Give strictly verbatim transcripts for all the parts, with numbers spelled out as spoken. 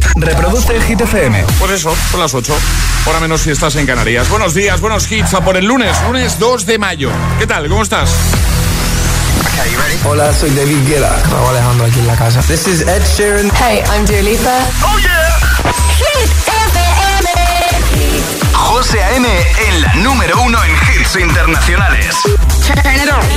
Reproduce Hit F M. Pues eso, son las ocho. Hora menos si estás en Canarias. Buenos días, buenos hits a por el lunes, lunes dos de mayo. ¿Qué tal? ¿Cómo estás? Okay, you ready? Hola, soy David Guetta. Raúl Alejandro aquí en la casa. This is Ed Sheeran. Hey, I'm Dua Lipa. ¡Oh, yeah! Hit F M. José A M en la número uno en hits internacionales. Turn it on.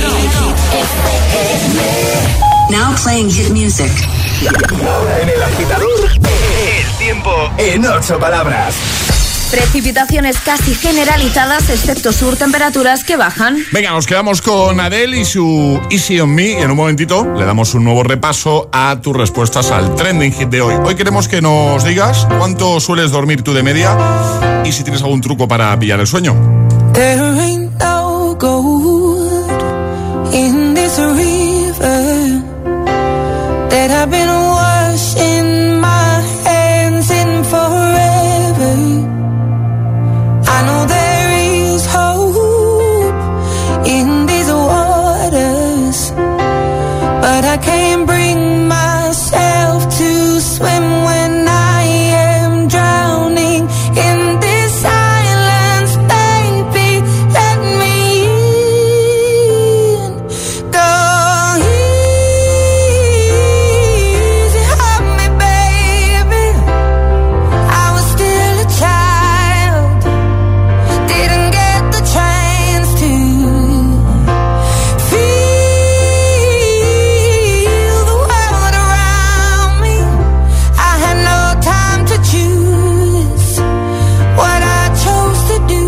Now playing hit music. Ahora en el agitador, el tiempo en ocho palabras. Precipitaciones casi generalizadas, excepto sur, temperaturas que bajan. Venga, nos quedamos con Adele y su Easy on Me. Y en un momentito le damos un nuevo repaso a tus respuestas al trending hit de hoy. Hoy queremos que nos digas cuánto sueles dormir tú de media y si tienes algún truco para pillar el sueño. There ain't no gold in this river that I've been washing my hands in forever. I know there is hope in these waters, but I can't bring myself to swim when I am drowning in this silence, baby, let me in. Go easy on me, baby. I was still a child, didn't get the chance to feel the world around me. I had no time to choose what I chose to do.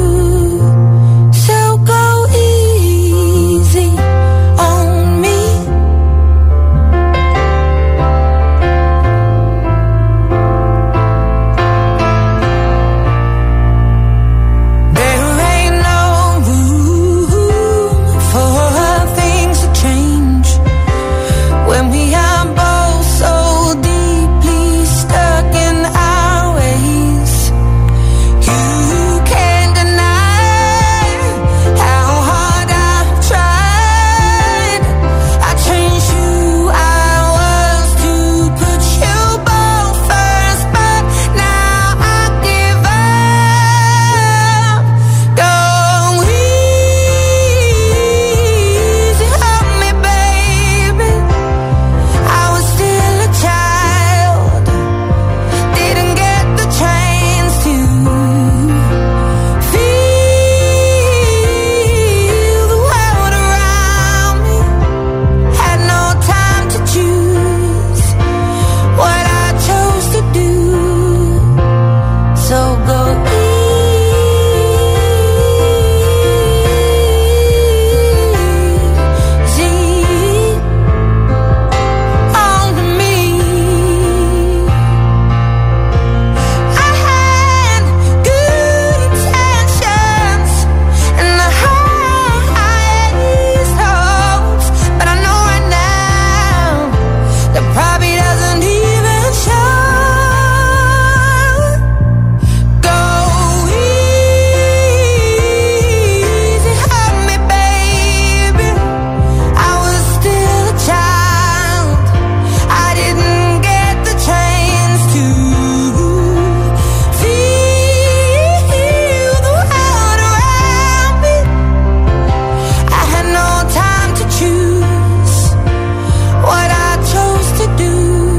So go easy on me. There ain't no room for things to change when we are both so deeply stuck in our ways. You can't deny how hard I've tried. I changed who I was to put you both first, but now I give up. Go easy on me, baby. I was still a child, didn't get the chance to feel the world around me. Had no time to choose what I chose to do. So go easy on me. I had good intentions and the highest hopes, but I know right now that probably doesn't even show. Go easy on me, baby. I was still a child, I didn't get the chance to feel the world around me. I had no time to choose what I chose to do.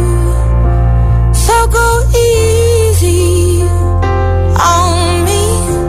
So go easy on me.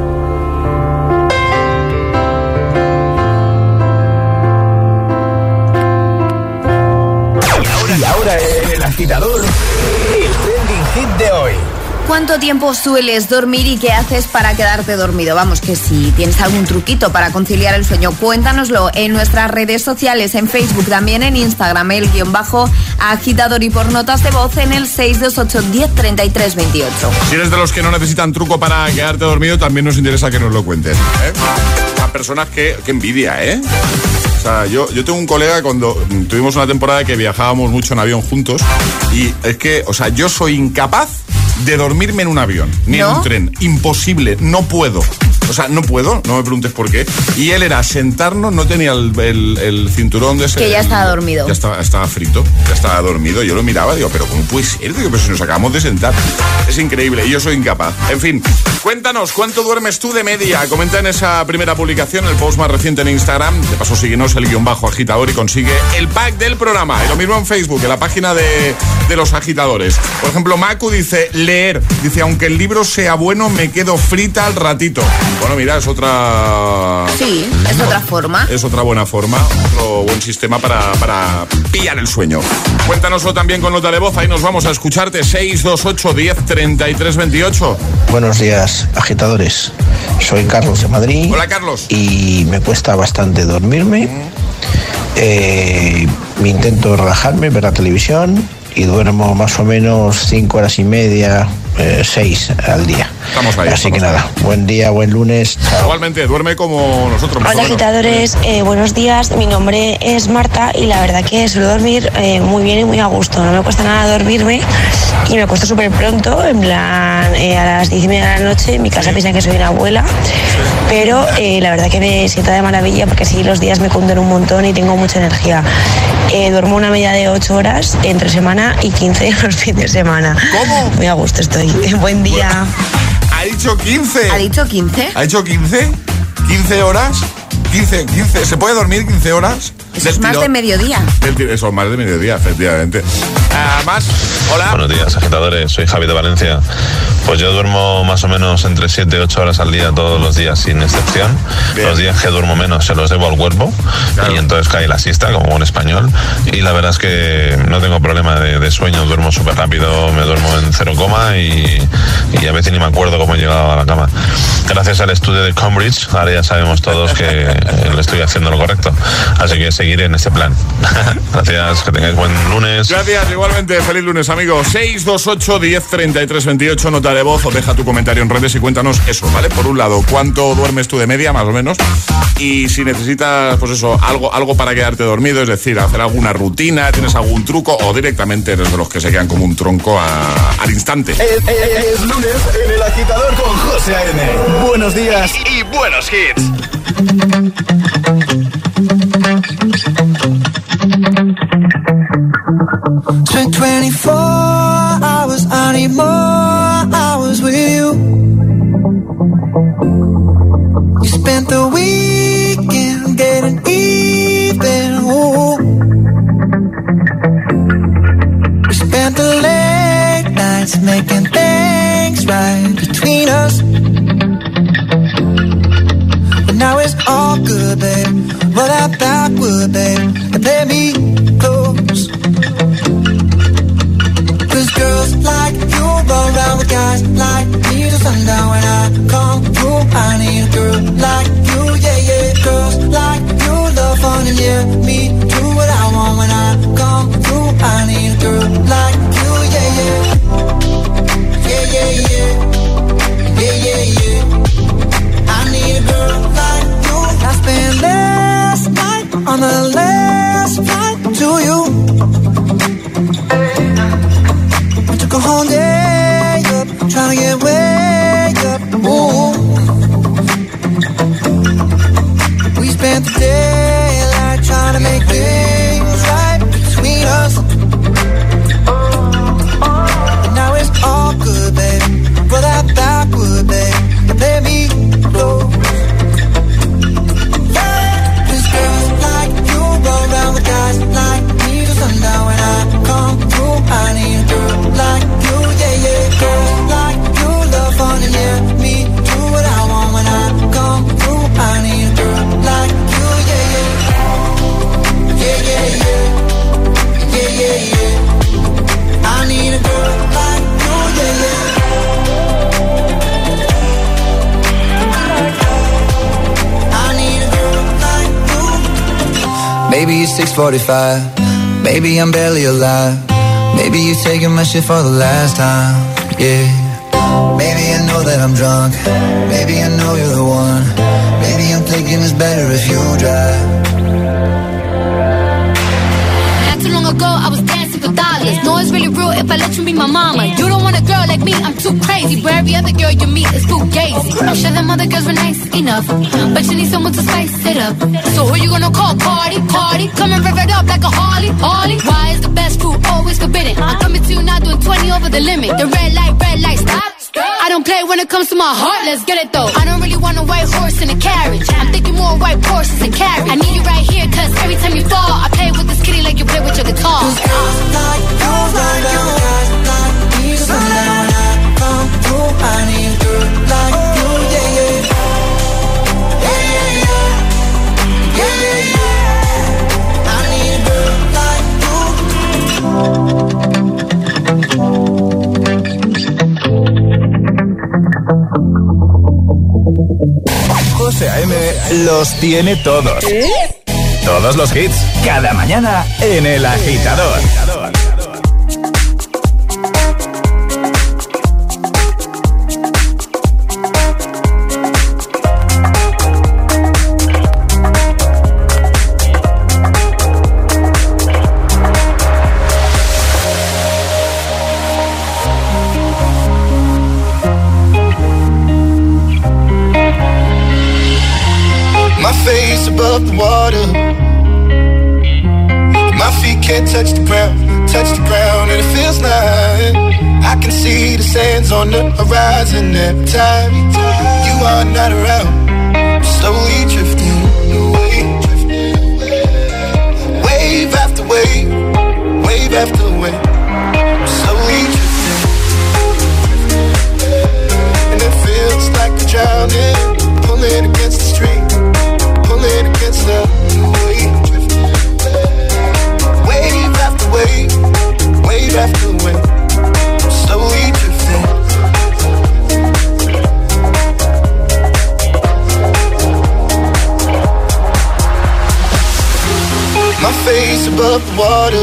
Y ahora en el agitador, el trending hit de hoy. ¿Cuánto tiempo sueles dormir y qué haces para quedarte dormido? Vamos, que si tienes algún truquito para conciliar el sueño, cuéntanoslo en nuestras redes sociales, en Facebook, también en Instagram, el guión bajo agitador, y por notas de voz en el seis dos ocho, diez, treinta y tres, veintiocho. Si eres de los que no necesitan truco para quedarte dormido, también nos interesa que nos lo cuentes, ¿eh? A personas que, que envidia, ¿eh? O sea, yo, yo tengo un colega cuando tuvimos una temporada que viajábamos mucho en avión juntos, y es que, o sea, yo soy incapaz de dormirme en un avión, ni ¿No? en un tren. Imposible, no puedo. O sea, no puedo, no me preguntes por qué. Y él era sentarnos, no tenía el, el, el cinturón de ese... Que ya estaba dormido. Ya estaba, estaba frito, ya estaba dormido. Yo lo miraba, digo, pero ¿cómo puede ser? Digo, pero si nos acabamos de sentar. Es increíble, y yo soy incapaz. En fin, cuéntanos, ¿cuánto duermes tú de media? Comenta en esa primera publicación, el post más reciente en Instagram. De paso, síguenos el guión bajo agitador y consigue el pack del programa. Y lo mismo en Facebook, en la página de, de los agitadores. Por ejemplo, Macu dice, leer. Dice, aunque el libro sea bueno, me quedo frita al ratito. Bueno, mira, es otra... Sí, es no, otra forma. Es otra buena forma, otro buen sistema para, para pillar el sueño. Cuéntanoslo también con nota de voz. Ahí nos vamos a escucharte. seis dos ocho, diez, treinta y tres, veintiocho. Buenos días, agitadores. Soy Carlos de Madrid. Hola, Carlos. Y me cuesta bastante dormirme. Mm. Eh, me intento relajarme, ver la televisión y duermo más o menos cinco horas y media, eh, seis al día. Estamos ahí. Así estamos que nada, ahí. Buen día, buen lunes. Chao. Igualmente, duerme como nosotros. Hola, agitadores, eh, buenos días. Mi nombre es Marta y la verdad que suelo dormir eh, muy bien y muy a gusto. No me cuesta nada dormirme y me cuesta súper pronto, en plan eh, a las diez y media de la noche. En mi casa piensan que soy una abuela, pero eh, la verdad que me sienta de maravilla porque así los días me cunden un montón y tengo mucha energía. Eh, duermo una media de ocho horas entre semana y quince los fines de semana. ¿Cómo? Muy a gusto estoy. Buen día. Ha dicho quince. ¿Ha dicho quince? ¿Ha dicho quince? ¿quince horas? quince, quince. ¿Se puede dormir quince horas? Eso es más tirón. de mediodía. Eso es más de mediodía, efectivamente. Uh, más, hola. Buenos días, agitadores. Soy Javi de Valencia. Pues yo duermo más o menos entre siete y ocho horas al día todos los días, sin excepción. Bien. Los días que duermo menos se los debo al cuerpo. Claro. Y entonces cae la siesta, como buen español. Y la verdad es que no tengo problema de, de sueño. Duermo súper rápido, me duermo en cero coma y, y a veces ni me acuerdo cómo he llegado a la cama. Gracias al estudio de Cambridge, ahora ya sabemos todos que le estoy haciendo lo correcto. Así que seguiré en este plan. Gracias, que tengáis buen lunes. Gracias, igualmente. Feliz lunes, amigos. seis dos ocho, diez, treinta y tres, veintiocho. Nota de voz o deja tu comentario en redes y cuéntanos eso, ¿vale? Por un lado, ¿cuánto duermes tú de media, más o menos? Y si necesitas, pues eso, algo, algo para quedarte dormido, es decir, hacer alguna rutina, tienes algún truco o directamente eres de los que se quedan como un tronco a, al instante. Es, es, es lunes en El Agitador con José A N. Buenos días y, y buenos hits. twenty-four hours, I need more hours with you. You spent the weekend getting even, ooh. We spent the late nights making things right between us. But now it's all good, babe. Roll that backward, babe, and play me close. Cause girls like you run around with guys like me till sundown. When I come through, I need a girl like you, yeah, yeah. Girls like you love fun and yeah, me do what I want. When I come through, I need a girl like you, yeah, yeah. Yeah, yeah, yeah. Yeah, yeah, yeah. I need a girl like you. I spent last night on the last flight to you. Took a whole day up, trying to get way up, ooh. We spent the daylight trying to make things right between us. And now it's all good, baby. Roll that backward, baby, and play me close. Cause girls like you roll around with guys like me till sundown. When I come through, I need a girl like you, yeah, yeah. Girls like you love fun and yeah, me do what I want. When I come through, I need a girl like you, yeah, yeah. Yeah, yeah, yeah. Yeah, yeah, yeah. I need a girl like you, yeah, yeah. I need a girl like you. Maybe it's six forty-five. Maybe I'm barely alive. Maybe you're taking my shit for the last time, yeah. Maybe I know that I'm drunk. Maybe I know you're the one. Maybe I'm thinking it's better if you drive. Not too long ago, I was dancing for for dollars. No, it's really real if I let you be my mama. You don't want a girl like me, I'm too crazy. Where every other girl you meet is fugazi. I'm sure them other girls were nice enough, but you need someone to spice it up. So who you gonna call? Cardi, Cardi. Come and rev it up like a Harley, Harley. Why is the best food always forbidden? I'm coming to you now doing twenty over the limit. The red light, red light, stop. I don't play when it comes to my heart, let's get it though. I don't really want a white horse in a carriage. I'm thinking more white horses and carriage. I need you right here, cause every time you fall, I play with this kitty like you play with your guitar. Cause girls like you, like you, guys like me. So now when I come through, I need a girl like you, yeah, yeah. Yeah, yeah, yeah. Yeah, yeah, yeah. I need a girl like you. José A M los tiene todos. Todos los hits, cada mañana en El Agitador. My face above the water, my feet can't touch the ground, touch the ground, and it feels like I can see the sands on the horizon every time you are not around. I'm slowly drifting away, wave after wave, wave after wave. I'm slowly drifting, and it feels like I'm drowning, pulling against the stream. Pulling against the wave, wave after wave, wave after wave, slowly drifting. My face above the water,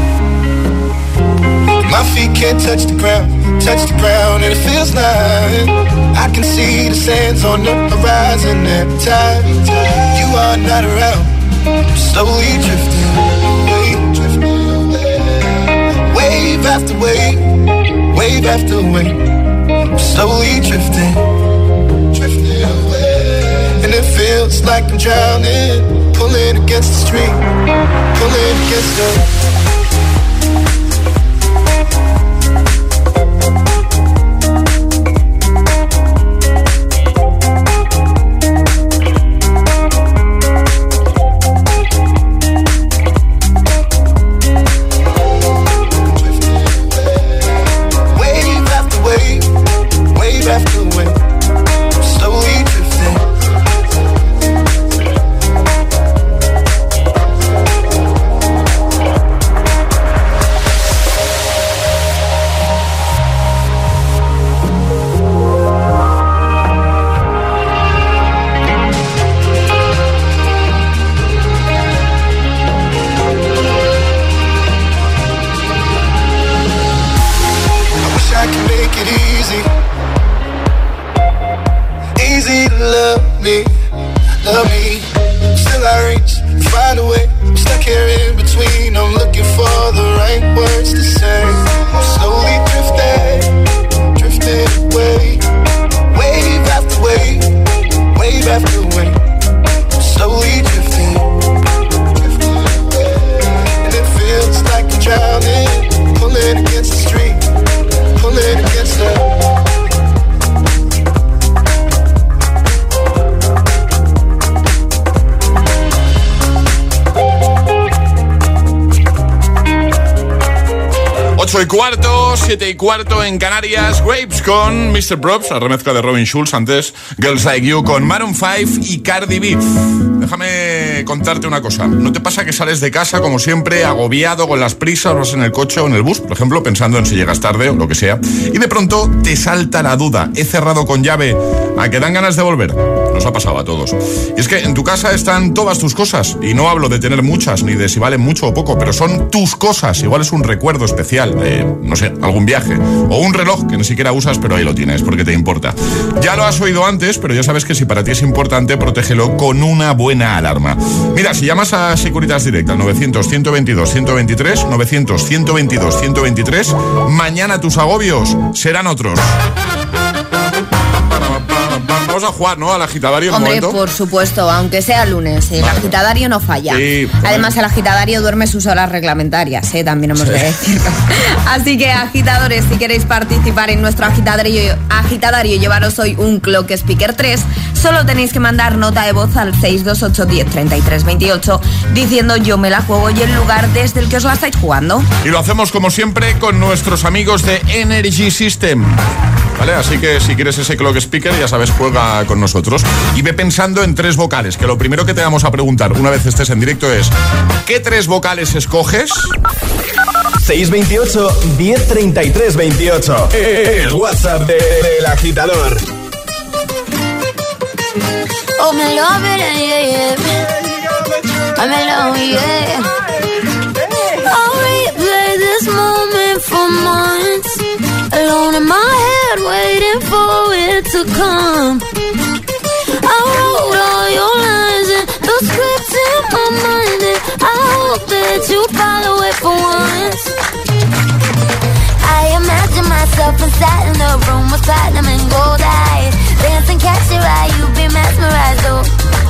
my feet can't touch the ground, touch the ground, and it feels like I can see the sands on the horizon every time you are not around. I'm slowly drifting away, drifting away, wave after wave, wave after wave. I'm slowly drifting, drifting away, and it feels like I'm drowning, pulling against the stream, pulling against the. ocho y cuarto, siete y cuarto en Canarias. Grapes con mister Probst, la remezcla de Robin Schulz. Antes Girls Like You con Maroon cinco y Cardi B. Déjame contarte una cosa. ¿No te pasa que sales de casa, como siempre, agobiado, con las prisas, vas en el coche o en el bus, por ejemplo, pensando en si llegas tarde o lo que sea, y de pronto te salta la duda? ¿He cerrado con llave? ¿A que dan ganas de volver? Nos ha pasado a todos. Y es que en tu casa están todas tus cosas. Y no hablo de tener muchas, ni de si valen mucho o poco, pero son tus cosas. Igual es un recuerdo especial, eh, no sé, algún algún viaje. O un reloj que ni siquiera usas, pero ahí lo tienes, porque te importa. Ya lo has oído antes, pero ya sabes que si para ti es importante, protégelo con una buena alarma. Mira, si llamas a Securitas Direct al novecientos, ciento veintidós, ciento veintitrés, novecientos, ciento veintidós, ciento veintitrés, mañana tus agobios serán otros. Vamos a jugar, ¿no? Al agitadario. Hombre, momento. Por supuesto, aunque sea lunes, el vale. agitadario no falla. Sí, además, el agitadario duerme sus horas reglamentarias, ¿eh? También hemos sí. de decirlo. Así que, agitadores, si queréis participar en nuestro agitadario, agitadario y llevaros hoy un Clock Speaker tres, solo tenéis que mandar nota de voz al seis dos ocho, diez, treinta y tres, veintiocho diciendo yo me la juego y el lugar desde el que os la estáis jugando. Y lo hacemos, como siempre, con nuestros amigos de Energy System. ¿Vale? Así que si quieres ese Clock Speaker, ya sabes, juega con nosotros. Y ve pensando en tres vocales, que lo primero que te vamos a preguntar una vez estés en directo es ¿qué tres vocales escoges? seis veintiocho, diez, treinta y tres, veintiocho. El WhatsApp de, de, del agitador. Oh, me love it, yeah, yeah. I'm in love, yeah. I'll replay this moment for months. Alone in my head, waiting for it to come. I wrote all your lines and the scripts in my mind, and I hope that you follow it for once. I imagine myself inside in the room with platinum and gold eyes, dancing, catch your eye, you be mesmerized, oh.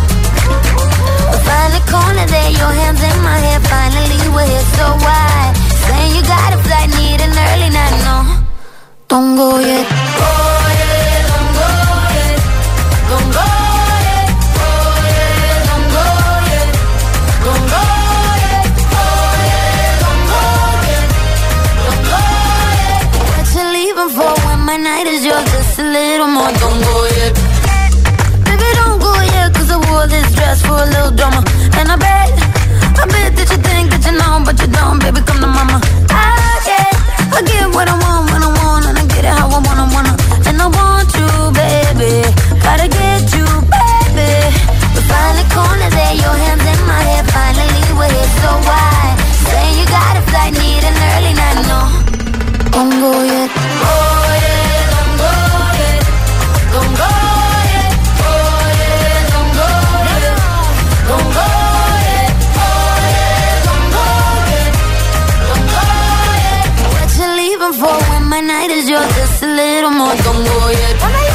Find a corner there, your hands in my hair, finally we're here, so why? Saying you got a flight, need an early night, no. Don't go yet. Oh yeah, don't go yet. Don't go yet. Oh yeah, don't go yet. Don't go yet. Oh yeah, don't go yet. Don't go yet. What you leaving for when my night is yours? Just a little more. Don't go yet. Baby, don't go yet, 'cause I wore this dress for a little drama. And I bet, I bet that you think that you know, but you don't. Baby, come to mama. I get, I get what I want when I want, and I get it how I wanna, wanna. And I want you, baby. Gotta get you, baby. We find a corner there, your hands in my hair. Finally we're here, so why? Saying you got a flight, need an early night, no. Don't go yet. Oh yeah, don't go yet. Don't go yet. Oh yeah, don't go yet. Don't go yet. Oh yeah, don't go yet. Don't go yet. What you leaving for when my night is yours? Just a little more. Don't go yet.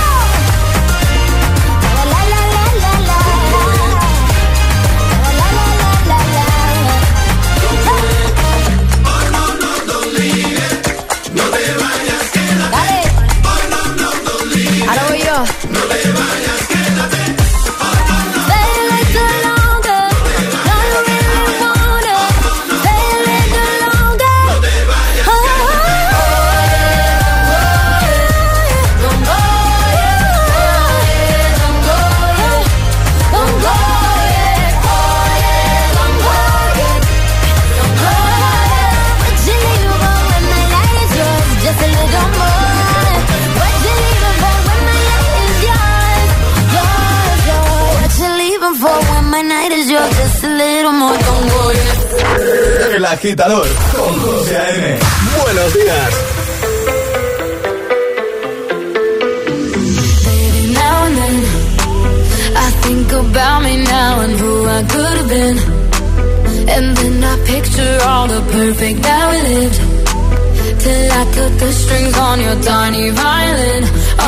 El agitador con José A M. Buenos días. Baby, now and then I think about me now and who I could have been, and then I picture all the perfect that we lived, till I cut the strings on your tiny violin.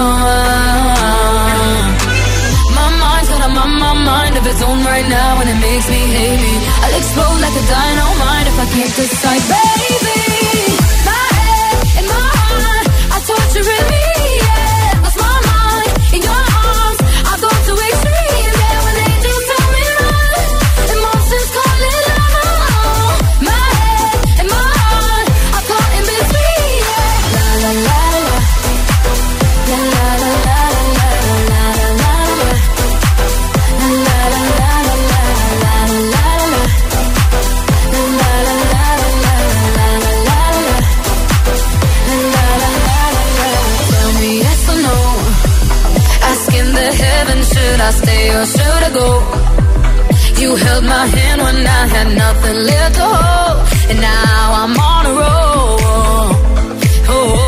Oh, my mind's got a my, my mind of its own right now, and it makes me hate me. I'll explode like a dynamite if I can't decide, baby. My head and my heart are torturing me, yeah. Lost my mind in your arms, I go to extremes, yeah. When they do tell me run, emotions call it love. My head and my heart are caught in between, yeah. La la la la, la la la la la la la la la. La la la la la la la la. La la la la la la la la. La la la la. Tell me yes or no. Asking the heavens, should I stay or should I go? You held my hand when I had nothing left to hold, and now I'm on a roll. Oh.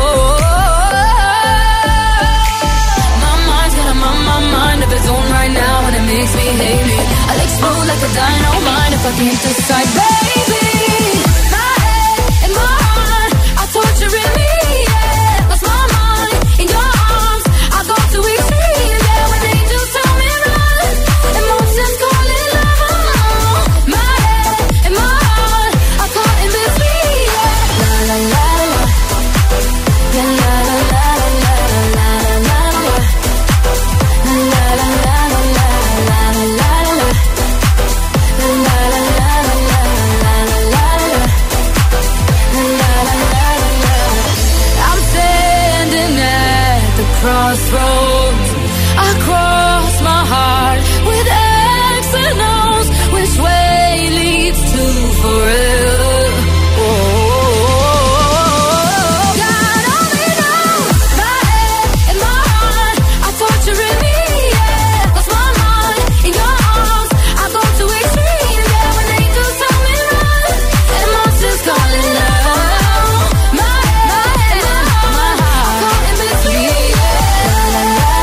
can't decide, baby. My head and my heart are torturing me, yeah. Lost my mind in your arms, I go too extreme, yeah. When angels tell me run, emotions call it love. My head and my heart are caught in between, yeah. La la la la, la la la la la la la la, la la la la la la la la. I'm standing at the crossroads. I cross my heart with X and O's. Which way leads to forever? Oh, God only knows. My head and my heart are torturing me, yeah. Lost my mind in your arms, I go too extreme, yeah. When angels tell me run, emotions call it love. My head and my heart are caught in between, yeah. La la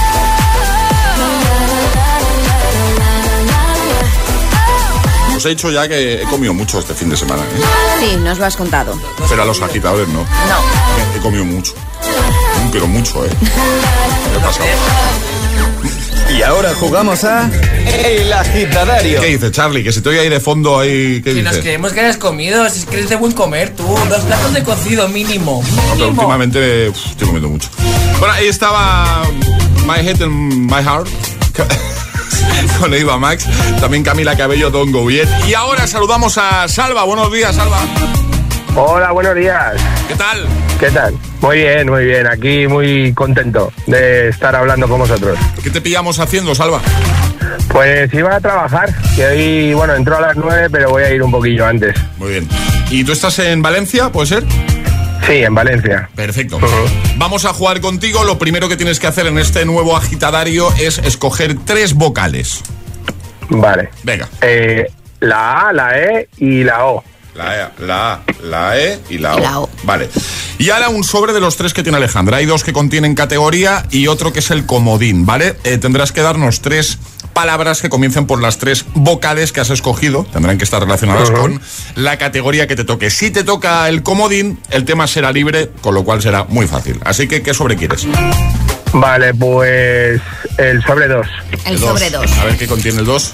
Os he dicho ya que he comido mucho este fin de semana, ¿eh? Sí, nos lo has contado. Pero a los agitadores no. No. He comido mucho. Pero mucho, ¿eh? ¿Qué ha pasado? Y ahora jugamos a El Agitadario. ¿Qué dice, Charlie? Que se te oye ahí de fondo ahí. ¿Qué Si dice? nos creemos que hayas comido, si es que eres de buen comer tú. Dos platos de cocido mínimo. No, pero Mínimo. últimamente uf, estoy comiendo mucho. Bueno, ahí estaba My Head and My Heart con Eva Max, también Camila Cabello, Don't Go Yet. Y ahora saludamos a Salva. Buenos días, Salva. Hola, buenos días. ¿Qué tal? ¿Qué tal? Muy bien, muy bien. Aquí muy contento de estar hablando con vosotros. ¿Qué te pillamos haciendo, Salva? Pues iba a trabajar, que hoy, bueno, entró a las nueve, pero voy a ir un poquillo antes. Muy bien. ¿Y tú estás en Valencia, puede ser? Sí, en Valencia. Perfecto. Uh-huh. Vamos a jugar contigo. Lo primero que tienes que hacer en este nuevo agitadario es escoger tres vocales. Vale. Venga. Eh, la A, la E y la O. La E, la A, la E y la O. Y la O. Vale. Y ahora un sobre de los tres que tiene Alejandra. Hay dos que contienen categoría y otro que es el comodín, ¿vale? Eh, tendrás que darnos tres palabras que comiencen por las tres vocales que has escogido. Tendrán que estar relacionadas uh-huh. con la categoría que te toque. Si te toca el comodín, el tema será libre, con lo cual será muy fácil. Así que, ¿qué sobre quieres? Vale, pues el sobre dos. El, el dos. sobre dos. A ver qué contiene el dos.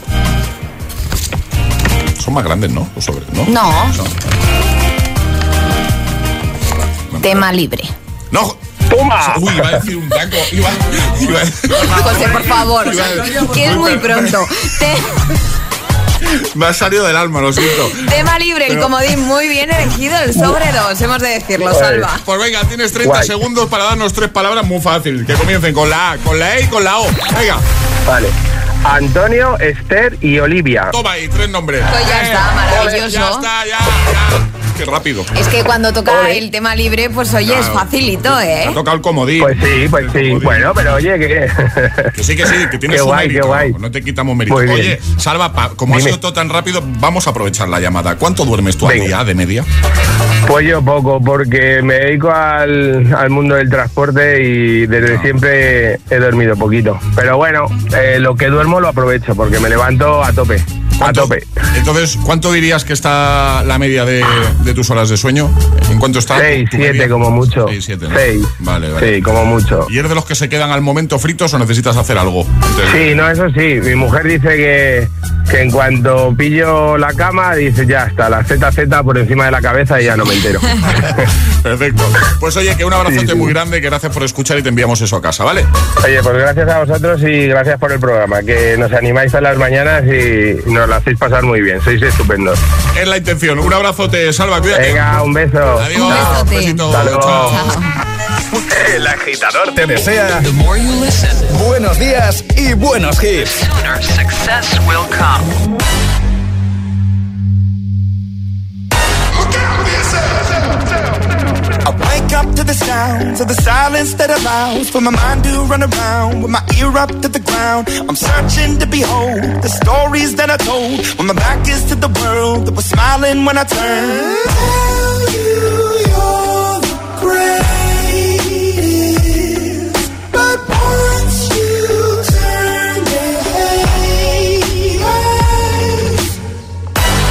Son más grandes, ¿no? Los sobres, ¿no? No. no. Tema libre. ¡No! ¡Toma! Uy, iba a decir un taco. Iba, iba a... José, por favor, a... que es muy pronto. Te... Me ha salido del alma, lo siento. Tema libre, Pero... el comodín muy bien elegido, el sobre dos, hemos de decirlo, pues, Salva. Pues venga, tienes treinta Guay. segundos para darnos tres palabras muy fácil, que comiencen con la A, con la E y con la O. Venga. Vale. Antonio, Esther y Olivia. Toma ahí, tres nombres. Pues ya eh, está, maravilloso. Ya está, ya, ya. Qué rápido. Es que cuando toca oye. el tema libre, pues oye, claro. es facilito, ¿eh? Te ha tocado el comodín. Pues sí, pues sí. Bueno, pero oye, que... que sí, que sí, que tienes qué un guay, mérito. Qué guay. No te quitamos mérito. Oye, Salva, pa, como Dime. ha sido todo tan rápido, vamos a aprovechar la llamada. ¿Cuánto duermes tú al día, de media? Pues yo poco, porque me dedico al, al mundo del transporte y desde no. siempre he dormido poquito. Pero bueno, eh, lo que duermo lo aprovecho, porque me levanto a tope. A tope. Entonces, ¿cuánto dirías que está la media de, de tus horas de sueño? ¿En cuánto está? Seis, siete como mucho. Seis, siete, ¿no? Seis. Vale, vale. Sí, como mucho. ¿Y eres de los que se quedan al momento fritos o necesitas hacer algo? Entonces... Sí, no, eso sí. Mi mujer dice que, que en cuanto pillo la cama, dice ya está, la Z Z por encima de la cabeza y ya no me entero. Perfecto. Pues oye, que un abrazote sí, sí. muy grande, que gracias por escuchar y te enviamos eso a casa, ¿vale? Oye, pues gracias a vosotros y gracias por el programa, que nos animáis a las mañanas y nos la hacéis pasar muy bien, sois estupendos. Es la intención. Un abrazote, Salva, cuídate. Venga, un beso. Adiós. Un besote. Un besito. Chao. Chao. El agitador te desea buenos días y buenos hits. Sooner success will come. I wake up to the sounds of the silence that allows for my mind to run around with my ear up to the ground. I'm searching to behold the stories that I told when my back is to the world that was smiling when I turned. Tell you you're the greatest, but once you turn your head,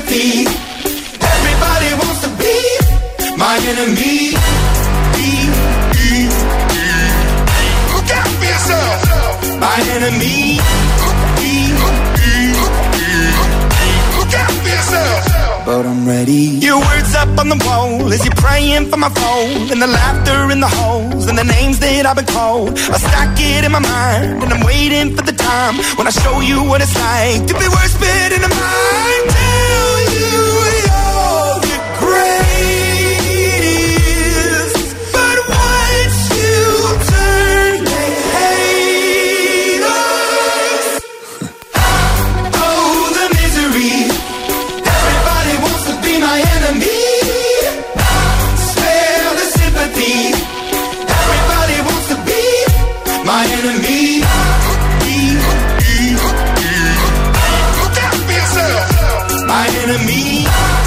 sympathy. Everybody wants to be my enemy. Look out for yourself. My enemy. Look out for yourself. But I'm ready. Your words up on the wall as you're praying for my phone, and the laughter in the holes and the names that I've been called. I stack it in my mind and I'm waiting for the time when I show you what it's like to be worse fit in a mind. Tell you you're the greatest, but once you turn they hate us. Oh, the misery. My enemy, spare the sympathy. Everybody wants to be my enemy. Look out for yourself. My enemy.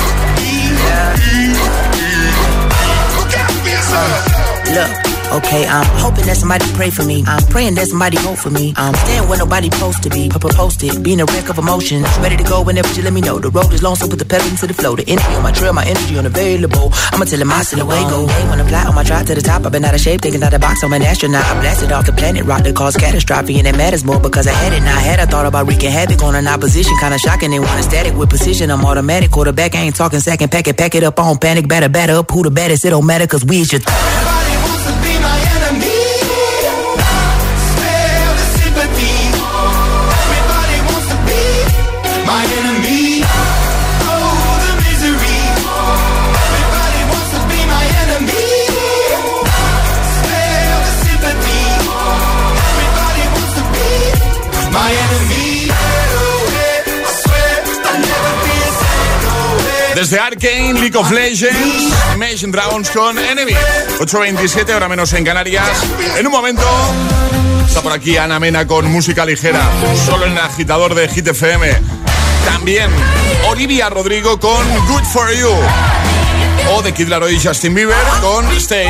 Look out for yourself. Look. Okay, I'm hoping that somebody pray for me. I'm praying that somebody hope for me. I'm staying where nobody supposed to be. Posted, being a wreck of emotions. Ready to go whenever you let me know. The road is long, so put the pedal into the flow. The energy on my trail, my energy unavailable. I'ma tell him I still away go. Hey, when I fly on my drive to the top, I've been out of shape, thinking out the box. I'm an astronaut. I blasted off the planet, rock that caused catastrophe, and it matters more because I had it. Now I had I thought about wreaking havoc on an opposition, kinda shocking. They want a static with precision. I'm automatic, quarterback. I ain't talking second, pack it, pack it up on panic, batter, batter up. Who the baddest? It don't matter, cause we is your. Everybody wants to be my enemy. My enemy, oh the misery. Everybody wants to be my enemy. Spare the sympathy. Everybody wants to be my enemy. I swear I'll never be the same. Desde Arcane, League of Legends, Imagine Dragons con Enemy. ocho veintisiete, hora menos en Canarias. En un momento está por aquí Ana Mena con música ligera, solo en el agitador de Hit F M. También Olivia Rodrigo con Good For You. O de Kid Laroi y Justin Bieber con Stay.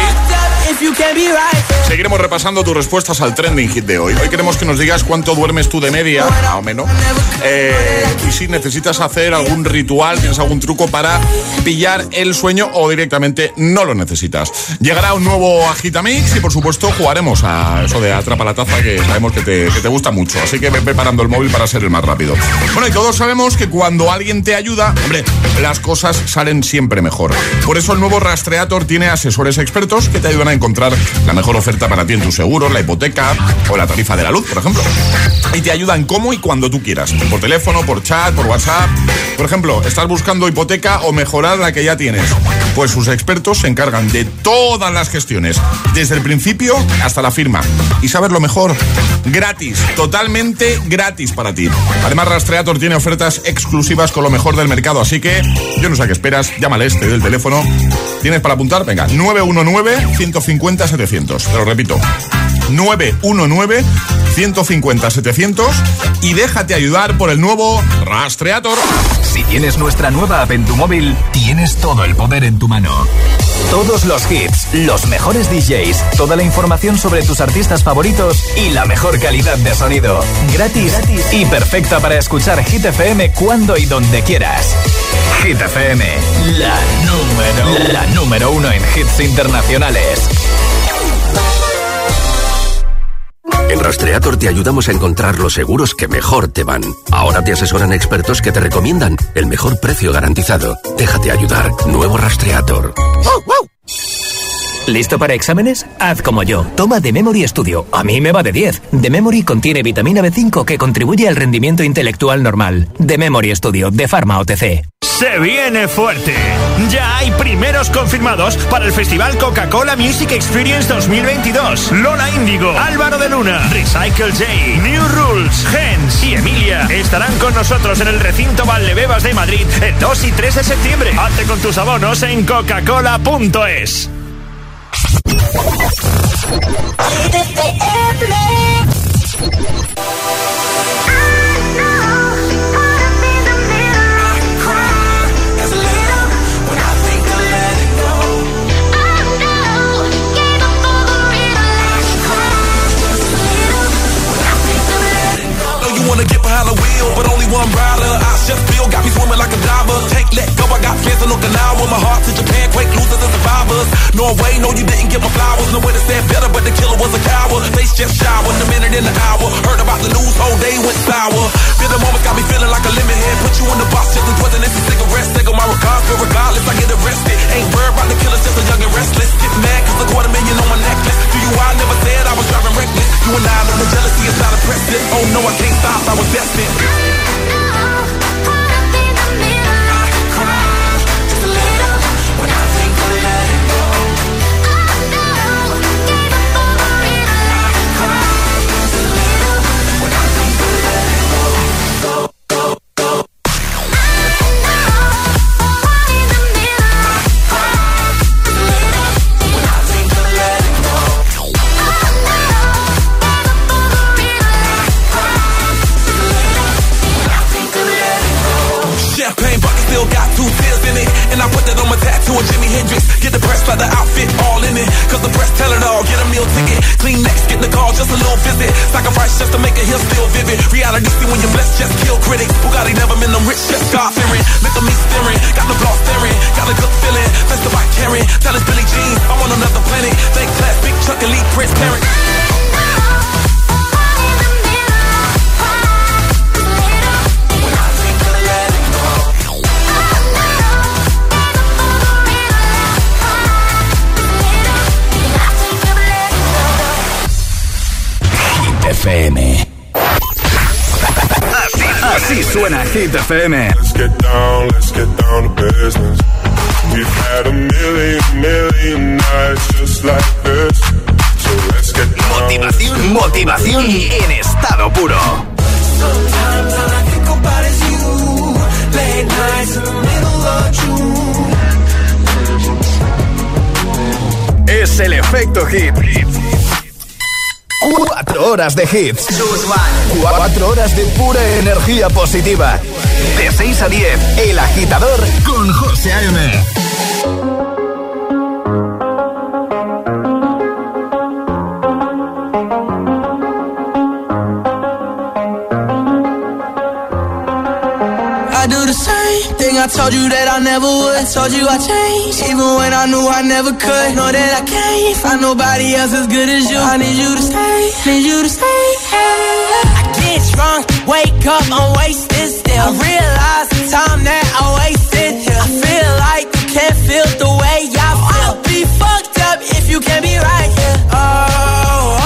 Seguiremos repasando tus respuestas al trending hit de hoy. Hoy queremos que nos digas cuánto duermes tú de media, más o menos. Eh, y si necesitas hacer algún ritual, tienes algún truco para pillar el sueño o directamente no lo necesitas. Llegará un nuevo Agitamix y por supuesto jugaremos a eso de Atrapa la Taza, que sabemos que te, que te gusta mucho. Así que ve preparando el móvil para ser el más rápido. Bueno, y todos sabemos que cuando alguien te ayuda, hombre, las cosas salen siempre mejor. Por eso el nuevo Rastreator tiene asesores expertos que te ayudan a encontrar la mejor oferta para ti en tu seguro, la hipoteca o la tarifa de la luz, por ejemplo. Y te ayudan como y cuando tú quieras. Por teléfono, por chat, por WhatsApp. Por ejemplo, estás buscando hipoteca o mejorar la que ya tienes. Pues sus expertos se encargan de todas las gestiones, desde el principio hasta la firma. ¿Y sabes lo mejor? Gratis, totalmente gratis para ti. Además, Rastreator tiene ofertas exclusivas con lo mejor del mercado, así que yo no sé a qué esperas, llámale este del teléfono. ¿Tienes para apuntar? Venga, nueve uno nueve, uno cinco cero, setecientos. Te lo repito, nueve uno nueve, uno cinco cero, setecientos y déjate ayudar por el nuevo Rastreator. Si tienes nuestra nueva app en tu móvil, tienes todo el poder en tu mano. Todos los hits, los mejores D Js, toda la información sobre tus artistas favoritos y la mejor calidad de sonido. Gratis, gratis y perfecta para escuchar Hit F M cuando y donde quieras. Hit F M, la número, la número uno en hits internacionales. En Rastreator te ayudamos a encontrar los seguros que mejor te van. Ahora te asesoran expertos que te recomiendan el mejor precio garantizado. Déjate ayudar. Nuevo Rastreator. ¿Listo para exámenes? Haz como yo. Toma The Memory Studio. A mí me va de diez. The Memory contiene vitamina B cinco que contribuye al rendimiento intelectual normal. The Memory Studio de Pharma O T C. Se viene fuerte. Ya hay primeros confirmados para el Festival Coca-Cola Music Experience dos mil veintidós. Lola Índigo, Álvaro de Luna, Recycle J, New Rules, Gens y Emilia estarán con nosotros en el recinto Valdebebas de Madrid el dos y tres de septiembre. Hazte con tus abonos en coca cola punto es. Wanna get behind the wheel, but only one rider. I just feel got me swimming like a diver. Take Norway, no, you didn't give my flowers. No way to say better, but the killer was a coward. Face just showered, a minute in the hour. Heard about the news, whole day went sour. Feel the moment got me feeling like a lemon head. Put you in the box, just as wasn't this a cigarette. Take on my regards, but regardless, I get arrested. Ain't worried about the killers, just a young and restless. Get mad, cause a quarter million on my necklace. Do you, I never said I was driving reckless. You and I know the jealousy is not impressive. Oh no, I can't stop, I was destined. Jimi Hendrix, get the press like the outfit all in it. Cause the press tell it all, get a meal ticket. Clean next, get the call, just a little visit. Sacrifice just to make a hill still vivid. Reality see when you're blessed, just kill critics. Bugatti never been them rich, just God fearing. Look at me staring, got the block staring. Got a good feeling, that's the bike carrying. Tell us Billie Jean, I'm on another planet. Fake class, big truck, elite, transparent. F M. Así, así suena Hit F M. Let's get down, let's get down to business. We've had a million, million nights just like this. So let's get down. Motivación, motivación en estado puro. Sometimes all I think about is you. Late nights in the middle of June. Es el efecto hit. Cuatro horas de hits. Cuatro horas de pura energía positiva. De seis a diez, El Agitador con José A M. I do the same thing I told you that I never would. I told you I changed, even when I knew I never could. Know that I can't find nobody else as good as you. I need you to stay, need you to stay. I get drunk, wake up, I'm wasted still. I realize the time that I wasted here. I feel like you can't feel the way I feel. I'll be fucked up if you can't be right here. Oh, oh.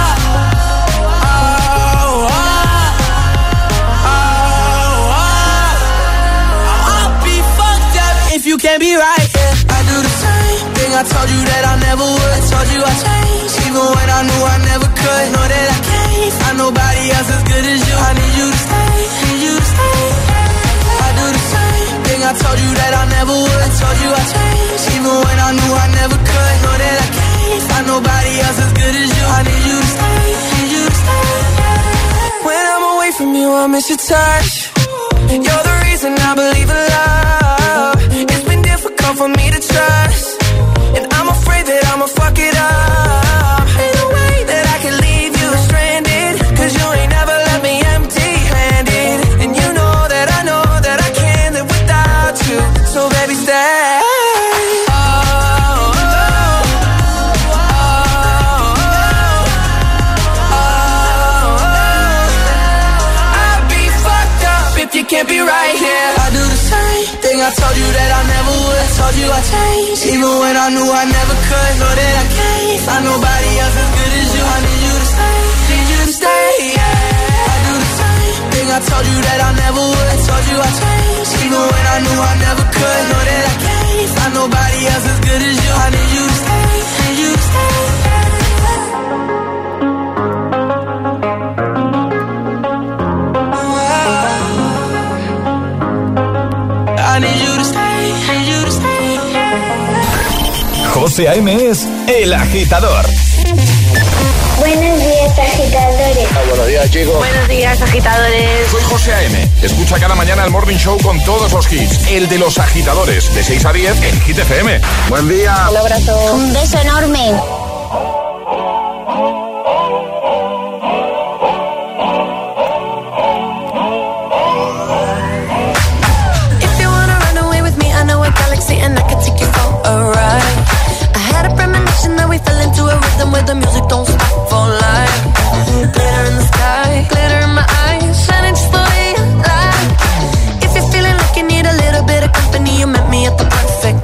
You can't be right, yeah. I do the same thing I told you that I never would. I told you I changed, even when I knew I never could. Know that I can't find nobody else as good as you. I need you to stay, need you to stay. I do the same thing I told you that I never would. I told you I changed, even when I knew I never could. Know that I can't find nobody else as good as you. I need you to stay, need you to stay. When I'm away from you, I miss your touch. You're the reason I believe in love. It's been difficult for me to trust, and I'm afraid that I'ma fuck it up. Ain't no way that I can leave you stranded, cause you ain't never left me empty-handed. And you know that I know that I can't live without you. So baby stay. Oh, oh, oh, oh, oh, oh. I'd be fucked up if you can't be right here. I do the same thing I told you that I never would. I told you I changed, even when I knew I never could. Know that I can't find nobody else as good as you. I need you to stay, need you to stay, yeah. I do the same thing I told you that I never would. I told you I changed, even when I knew I never could. Know that I can't find nobody else as good as you. I need you to stay, need you to stay. I need you to stay, need you to stay. José A M es El Agitador. Buenos días, agitadores. Ah, buenos días, chicos. Buenos días, agitadores. Soy José A M. Escucha cada mañana el Morning Show con todos los hits. El de los agitadores, de seis a diez en Hit F M. Buen día. Un abrazo. Un beso enorme. If you wanna run away with me, I know a galaxy and I can take you for a ride. I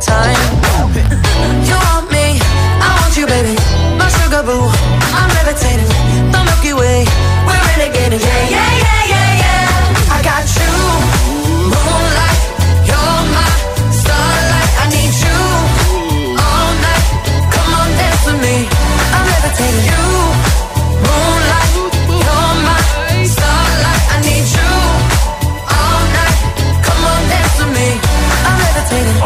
time. You want me, I want you, baby. My sugar boo, I'm levitating. The Milky Way, we're renegading. Yeah, yeah, yeah, yeah, yeah. I got you, moonlight. You're my starlight. I need you all night. Come on, dance with me. I'm levitating. You, moonlight. You're my starlight. I need you all night. Come on, dance with me. I'm levitating.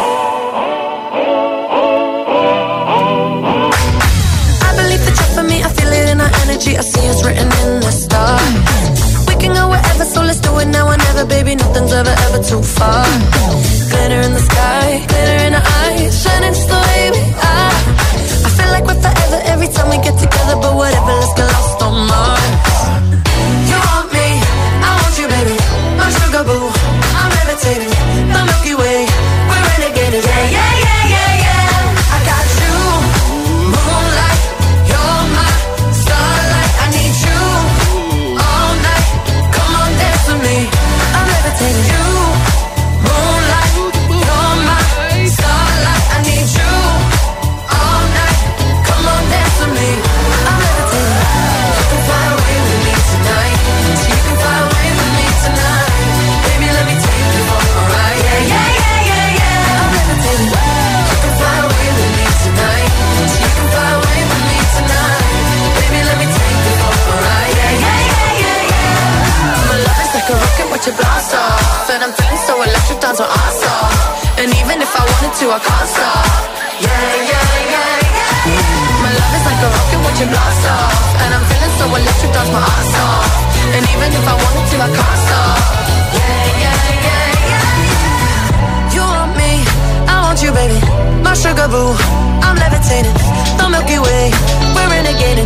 I believe that you're for me. I feel it in our energy. I see it's written in the stars. We can go wherever, so let's do it now or never, baby. Nothing's ever, ever too far. Glitter in the sky, glitter in our eyes, shining just the way we are. I feel like we're forever every time we get together, but whatever, let's get lost on Mars. You want me, I want you, baby. My sugar boo, I'm levitating. The Milky Way, we're renegading. Yeah, yeah, yeah, yeah, yeah. I got you, moonlight. You're my starlight. I need you all night. Come on, dance with me. I'm levitating. You, moonlight. You're my starlight. I need you all night. Come on, dance with me. I'm levitating. You can fly away with me tonight. You can fly away with me tonight. Baby, let me take you for a ride. Yeah, yeah, yeah, yeah, yeah. I'm levitating. You can fly away with me tonight. You can fly away with me tonight. Baby, let me take you for a ride. Yeah, yeah, yeah, yeah, yeah. My love is like a rocket, watch it blast off. And I'm feeling so electric, dance on our off. And even if I wanted to, I can't stop. Yeah, yeah, yeah, yeah. My love is like a rocket, watch it blast off. And I'm feeling so electric, dance my ass off. And even if I wanted to, I can't stop. Yeah, yeah, yeah, yeah. You want me, I want you, baby. My sugar boo, I'm levitating. The Milky Way, we're renegading.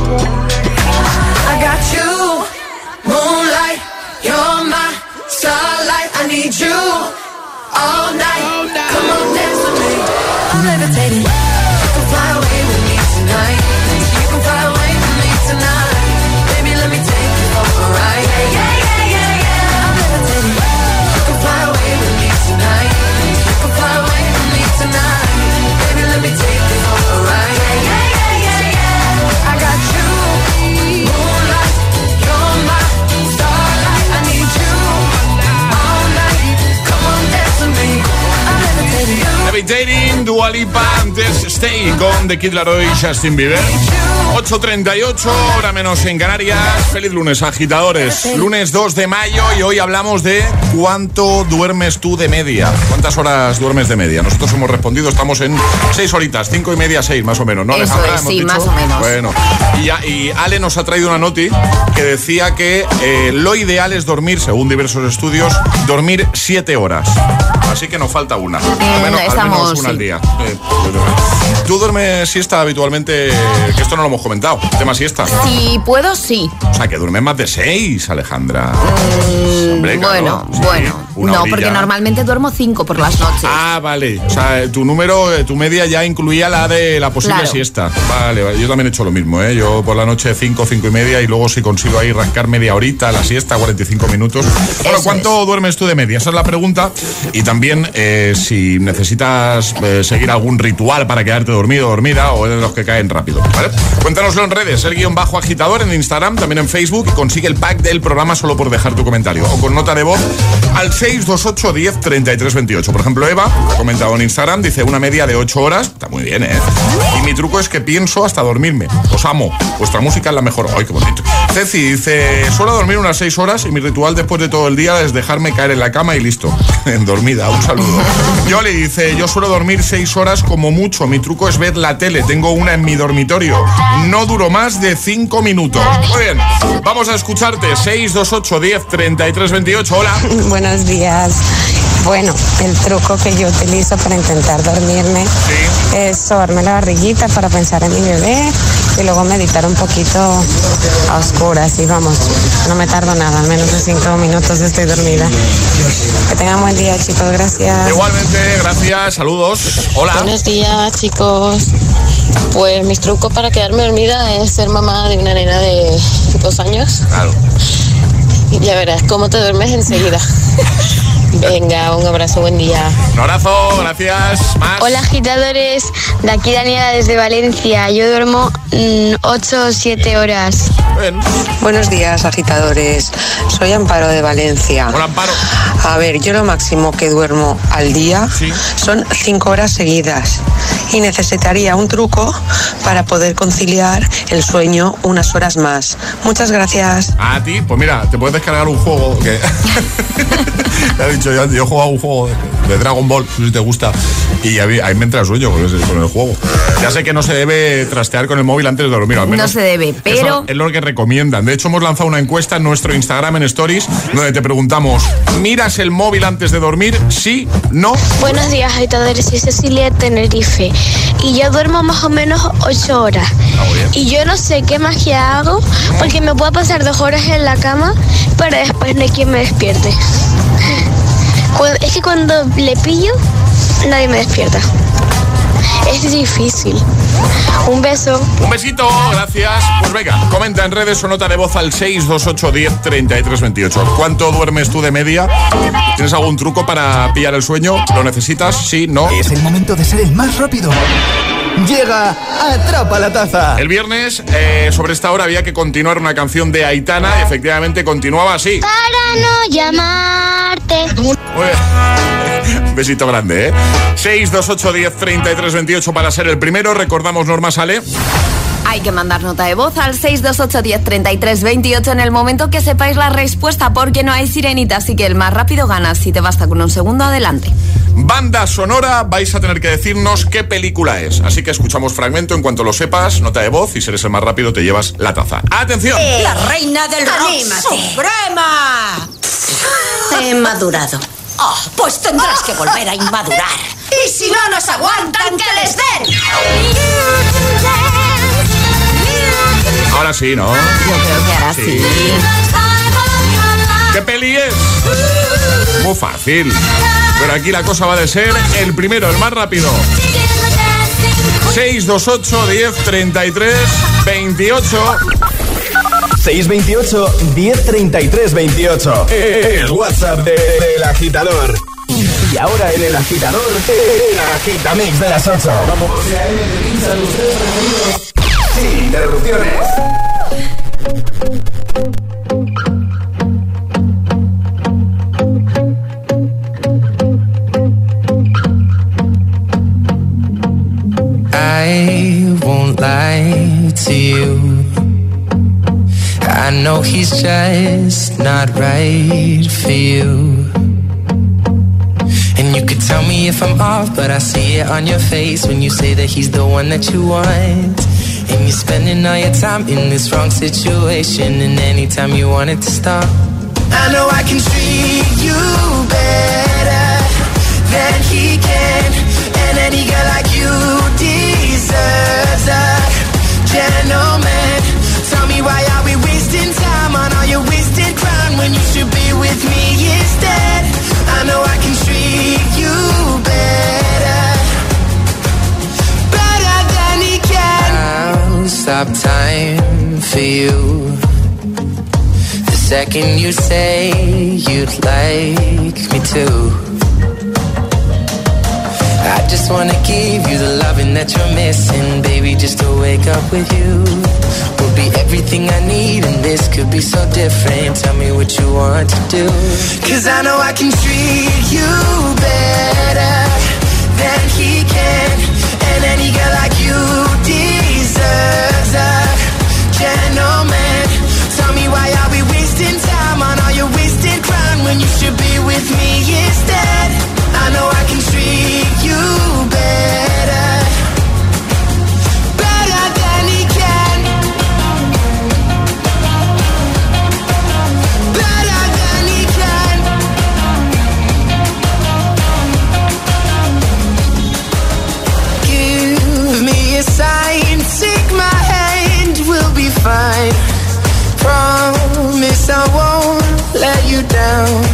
I got you, moonlight. You're my starlight. I need you all night. Come on, dance with me. I'm levitating. You can fly away with me tonight. You can fly away with me tonight. Baby, let me take you for a ride. Yeah, yeah, yeah, yeah, yeah. I'm levitating. You can fly away with me tonight. You can fly away with me tonight. Baby, let me take you for a ride. Yeah, yeah, yeah, yeah, yeah. I got you, moonlight. You're my starlight. I need you all night. Come on, dance with me. I'm levitating. Levitating, Dua Lipa, antes Stay con The Kid Laroi y Justin Bieber. ocho treinta y ocho, hora menos en Canarias. Feliz lunes, agitadores. Lunes dos de mayo y hoy hablamos de cuánto duermes tú de media. ¿Cuántas horas duermes de media? Nosotros hemos respondido, estamos en seis horitas, cinco y media, seis más o menos, ¿no, Eso Alejandra? es, ¿Hemos sí, dicho? más o menos. Bueno, y, ya- y Ale nos ha traído una noti que decía que eh, lo ideal es dormir, según diversos estudios, dormir siete horas. Así que nos falta una. Al menos, al estamos, menos una sí. al día. Eh, ¿Tú duermes siesta habitualmente? Que esto no lo hemos comentado. Tema siesta. Si puedo, sí. O sea, que duermes más de seis, Alejandra. Hombre, claro, bueno, sí, bueno. una No, horilla. porque normalmente duermo cinco por las noches. Ah, vale. O sea, tu número, eh, tu media ya incluía la de la posible Claro. siesta. Vale, vale. Yo también he hecho lo mismo, ¿eh? Yo por la noche cinco, cinco y media y luego si consigo ahí rascar media horita, la siesta, cuarenta y cinco minutos. Bueno, Eso ¿cuánto duermes tú de media? Esa es la pregunta. Y también eh, si necesitas eh, seguir algún ritual para quedarte dormido o dormida o eres de los que caen rápido, ¿vale? Cuéntanoslo en redes, el guión bajo agitador en Instagram, también en Facebook, y consigue el pack del programa solo por dejar tu comentario o con nota de voz al seis dos ocho diez treinta y tres veintiocho. Por ejemplo, Eva ha comentado en Instagram, dice una media de ocho horas, está muy bien, ¿eh? Y mi truco es que pienso hasta dormirme. Os amo, vuestra música es la mejor. ¡Ay, qué bonito! Ceci dice, suelo dormir unas seis horas y mi ritual después de todo el día es dejarme caer en la cama y listo. En dormida, un saludo. Yoli dice, yo suelo dormir seis horas como mucho. Mi truco es ver la tele. Tengo una en mi dormitorio. No duro más de cinco minutos. Muy bien, vamos a escucharte. seis dos ocho diez treinta y tres veintiocho. Hola. Buenos días. Bueno, el truco que yo utilizo para intentar dormirme es sobarme la barriguita para pensar en mi bebé y luego meditar un poquito a oscuras. Y vamos, no me tardo nada, en menos de cinco minutos estoy dormida. Que tengan buen día, chicos, gracias. Igualmente, gracias, saludos. Hola. Buenos días, chicos. Pues mis trucos para quedarme dormida es ser mamá de una nena de dos años. Claro. Y ya verás cómo te duermes enseguida. Venga, un abrazo, buen día. Un abrazo, gracias. Más. Hola agitadores, de aquí Daniela desde Valencia. Yo duermo ocho o siete horas. Bien. Buenos días agitadores, soy Amparo de Valencia. Hola Amparo. A ver, yo lo máximo que duermo al día ¿Sí? son cinco horas seguidas y necesitaría un truco para poder conciliar el sueño unas horas más. Muchas gracias. A ti, pues mira, te puedes descargar un juego que... Te he dicho, yo, yo he jugado un juego de Dragon Ball, no sé si te gusta, y ahí, ahí me entra el sueño con, ese, con el juego. Ya sé que no se debe trastear con el móvil antes de dormir, al menos. No se debe, pero... es lo que recomiendan. De hecho, hemos lanzado una encuesta en nuestro Instagram, en Stories, donde te preguntamos, ¿miras el móvil antes de dormir? ¿Sí? ¿No? Buenos días, agitadores. Soy Cecilia de Tenerife. Y yo duermo más o menos ocho horas. Ah, muy bien. Y yo no sé qué magia hago, porque me puedo pasar dos horas en la cama, pero después no hay quien me despierte. Es que cuando le pillo, nadie me despierta. Es difícil. Un beso. Un besito, gracias. Pues venga, comenta en redes o nota de voz al seis dos ocho diez treinta y tres veintiocho. ¿Cuánto duermes tú de media? ¿Tienes algún truco para pillar el sueño? ¿Lo necesitas? Sí, no. Es el momento de ser el más rápido. Llega Atrapa la Taza. El viernes, eh, sobre esta hora, había que continuar una canción de Aitana. Y efectivamente continuaba así. Para no llamarte. Un besito grande, ¿eh? seis dos ocho diez treinta y tres veintiocho para ser el primero. Recordamos, Norma, sale. Hay que mandar nota de voz al seis dos ocho diez treinta y tres veintiocho en el momento que sepáis la respuesta, porque no hay sirenita, así que el más rápido gana. Si te basta con un segundo, adelante. Banda sonora, vais a tener que decirnos qué película es. Así que escuchamos fragmento, en cuanto lo sepas, nota de voz, y si eres el más rápido te llevas la taza. ¡Atención! La reina del rock suprema. He madurado. Oh, pues tendrás que volver a inmadurar. Y si no nos aguantan, que les den. Ahora sí, ¿no? Yo creo que ahora sí. sí. ¿Qué peli es? Muy fácil. Pero aquí la cosa va de ser el primero, el más rápido. seis dos ocho diez treinta y tres veintiocho. seis veintiocho diez treinta y tres veintiocho. El WhatsApp de, de, del agitador. Y ahora en el agitador, el agitamix de las ocho. Vamos. Sin interrupciones. I won't lie to you. I know he's just not right for you. And you could tell me if I'm off, but I see it on your face when you say that he's the one that you want. And you're spending all your time in this wrong situation, and anytime you want it to stop, I know I can treat you better than he can. And any girl like you deserves a gentleman. Tell me, why are we wasting time on all your wasted crown when you should be with me instead? I know I can treat you better, better than he can. I'll stop time for you the second you say you'd like me to. I just wanna give you the loving that you're missing, baby, just to wake up with you. Will be everything I need, and this could be so different. Tell me what you want to do, 'cause I know I can treat you better than he can. And any girl like you deserves a gentleman. Tell me, why are we wasting time on all your wasted crown when you should be with me instead? I know I can treat you better, better than he can, better than he can. Give me a sign, take my hand, we'll be fine. Promise I won't let you down.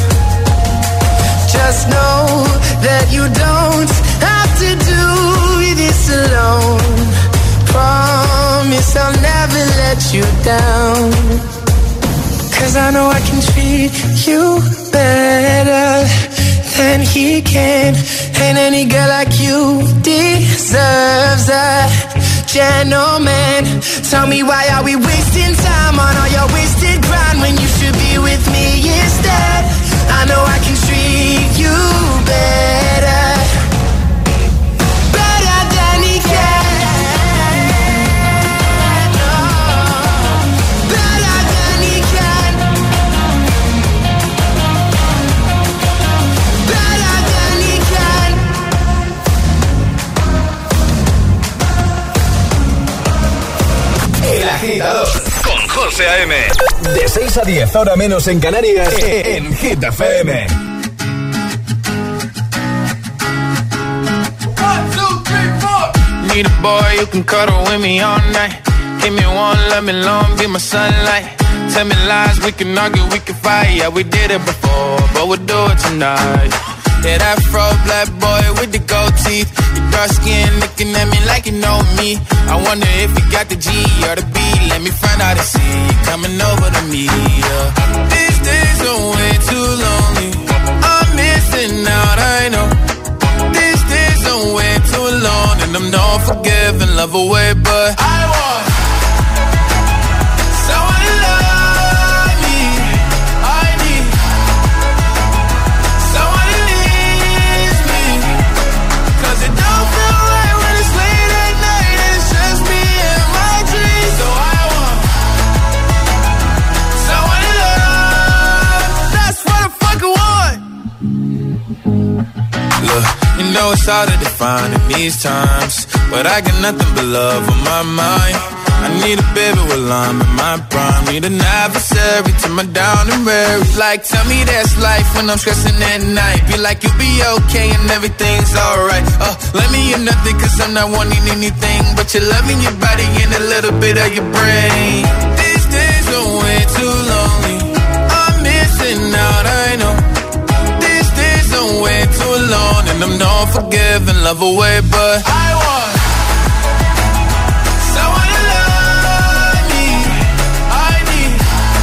Just know that you don't have to do this alone. Promise I'll never let you down. 'Cause I know I can treat you better than he can. And any girl like you deserves a gentleman. Tell me, why are we wasting time on all your wasted grind when you should be with me instead? I know I can treat you better, better than he can. El Agitador con José A M. De seis a diez, hora menos en Canarias, en Hit F M. Need a boy who can cuddle with me all night. Give me one, let me long, be my sunlight. Tell me lies, we can argue, we can fight. Yeah, we did it before, but we'll do it tonight. Yeah, that fro black boy with the gold teeth. Your dark skin looking at me like you know me. I wonder if you got the G or the B. Let me find out and see you coming over to me. Yeah. These days are way too lonely. I'm missing out, I know. These days are way too long, and I'm not forgiving, love away, but I want someone to love me. I need someone to leave me, 'cause it don't feel right when it's late at night and it's just me and my dreams. So I want someone to love. That's what I fucking want. Look, you know it's hard to define in these times, but I got nothing but love on my mind. I need a baby while I'm in my prime. Need an adversary to my down and weary. Like, tell me that's life when I'm stressing at night. Be like, you'll be okay and everything's alright. Uh, let me in nothing, 'cause I'm not wanting anything but your love in your body and a little bit of your brain. These days are way too lonely. I'm missing out, I know. These days are way too alone, and I'm not forgiving, love away, but I want someone to love me. I need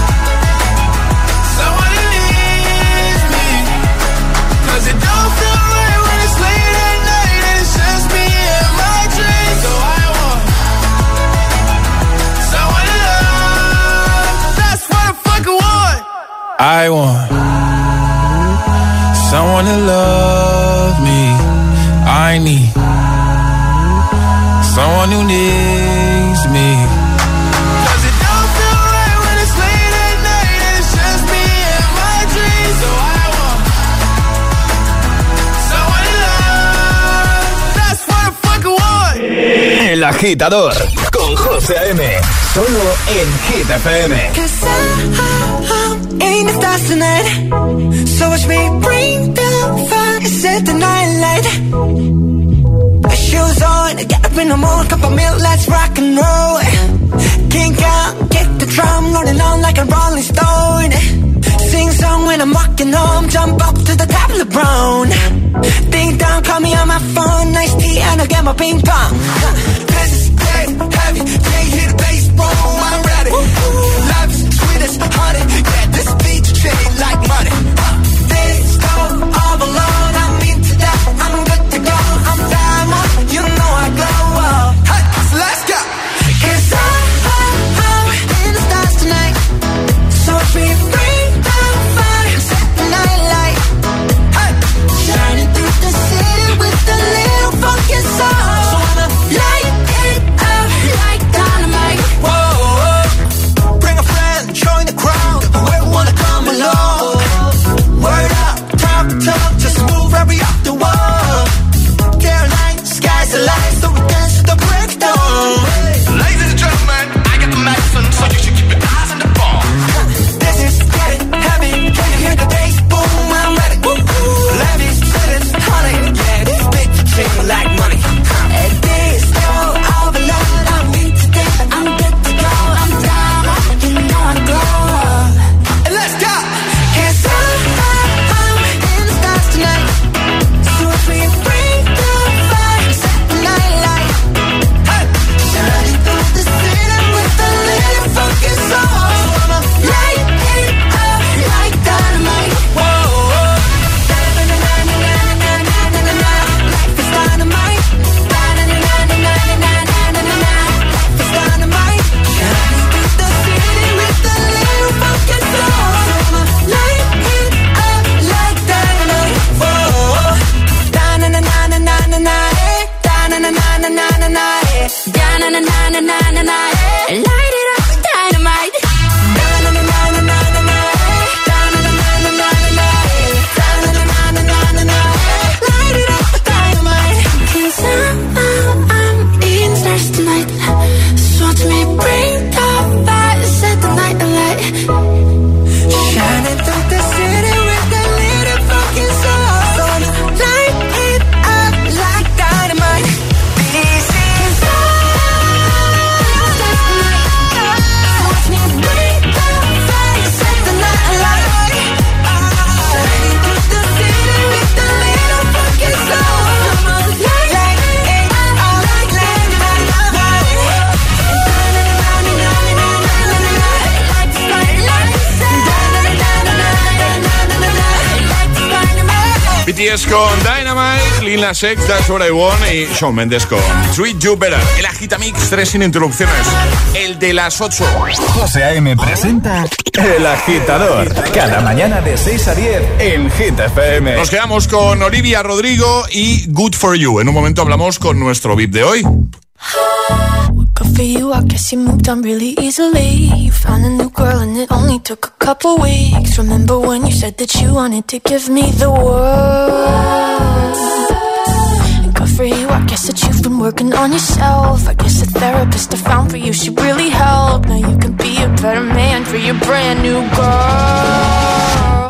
someone to leave me, 'cause it don't feel right when it's late at night and it's just me and my dreams. So I want someone to love. That's what I fucking want. I want someone to love me. I need someone who needs me, 'cause it don't feel right when it's late at night and it's just me and my dreams. So I want someone to love. That's what I fucking want. El Agitador con José A M. Solo en Hit F M. 'Cause I ain't the stars tonight, so watch me bring the fire and set the night light. Shoes on, get up in the morning, cup of milk, let's rock and roll. Kink out, get the drum rolling on like a rolling stone. Sing song when I'm walking home, jump up to the top of the brown. Ding dong, call me on my phone, nice tea and I'll get my ping pong. This is dead heavy, can't hear the bass, boom, I'm ready. Life's sweet as honey, yeah, this beat chain like money. This go all alone, I'm into that, I'm good to go, I'm diamond, you know I glow up. Hey, so let's go. 'Cause I, I, I'm in the stars tonight, so watch me bring the fire, set the night light. Hey, shining through the city with a little funky soul. So I'ma light it up like dynamite. Whoa, whoa. Bring a friend, join the crowd, whoever wanna come along. Word up, talk, talk, just move right up the wall. Caroline, sky's the light, so we dance to the breakdown. Ladies and gentlemen, I got the medicine, so you should keep your eyes on the ball. This is getting heavy, can you hear the bass? Boom, I'm ready. Woo, woo. Levi's, cities, honey, yeah, this bitch shake like money. And this go all alone, I'm into this, I'm good to go, I'm down, you know I glow. And let's go. 'Cause I, I, I'm in the stars tonight, so B T S con Dynamite, Lil Nas X, That's What I Want y Shawn Mendes con Treat You Better. El Agitamix, tres sin interrupciones. El de las ocho. José A.M. presenta El Agitador. Cada mañana de seis a diez en Hit F M. Nos quedamos con Olivia Rodrigo y Good For You. En un momento hablamos con nuestro V I P de hoy. Good for you, I guess you moved on really easily. You found a new girl and it only took a couple weeks. Remember when you said that you wanted to give me the world? And good for you, I guess that you've been working on yourself. I guess the therapist I found for you should really help. Now you can be a better man for your brand new girl.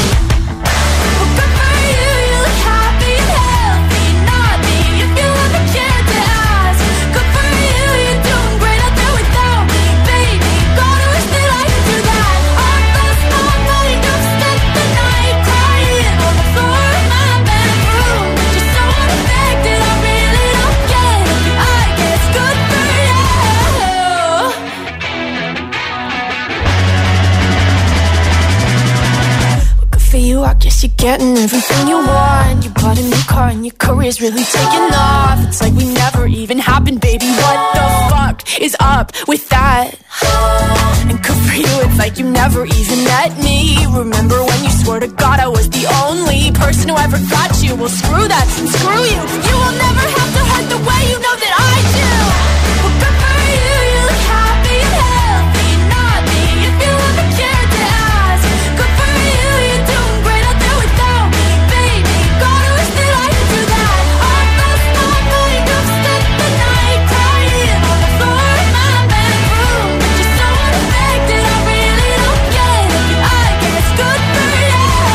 I guess you're getting everything you want. You bought a new car and your career's really taking off. It's like we never even happened, baby. What the fuck is up with that? And good for you, it's like you never even met me. Remember when you swore to God I was the only person who ever got you? Well, screw that and screw you. You will never have to hurt the way you know that I do. Well, good for you, you look happy and healthy. Not me, if you ever cared to ask. Good for you, you're doing great out there without me, baby. God, I wish that I could do that. Our first night, night, up, spent the night crying on the floor of my bedroom. But you're so unaffected, I really don't get it. I guess good for you.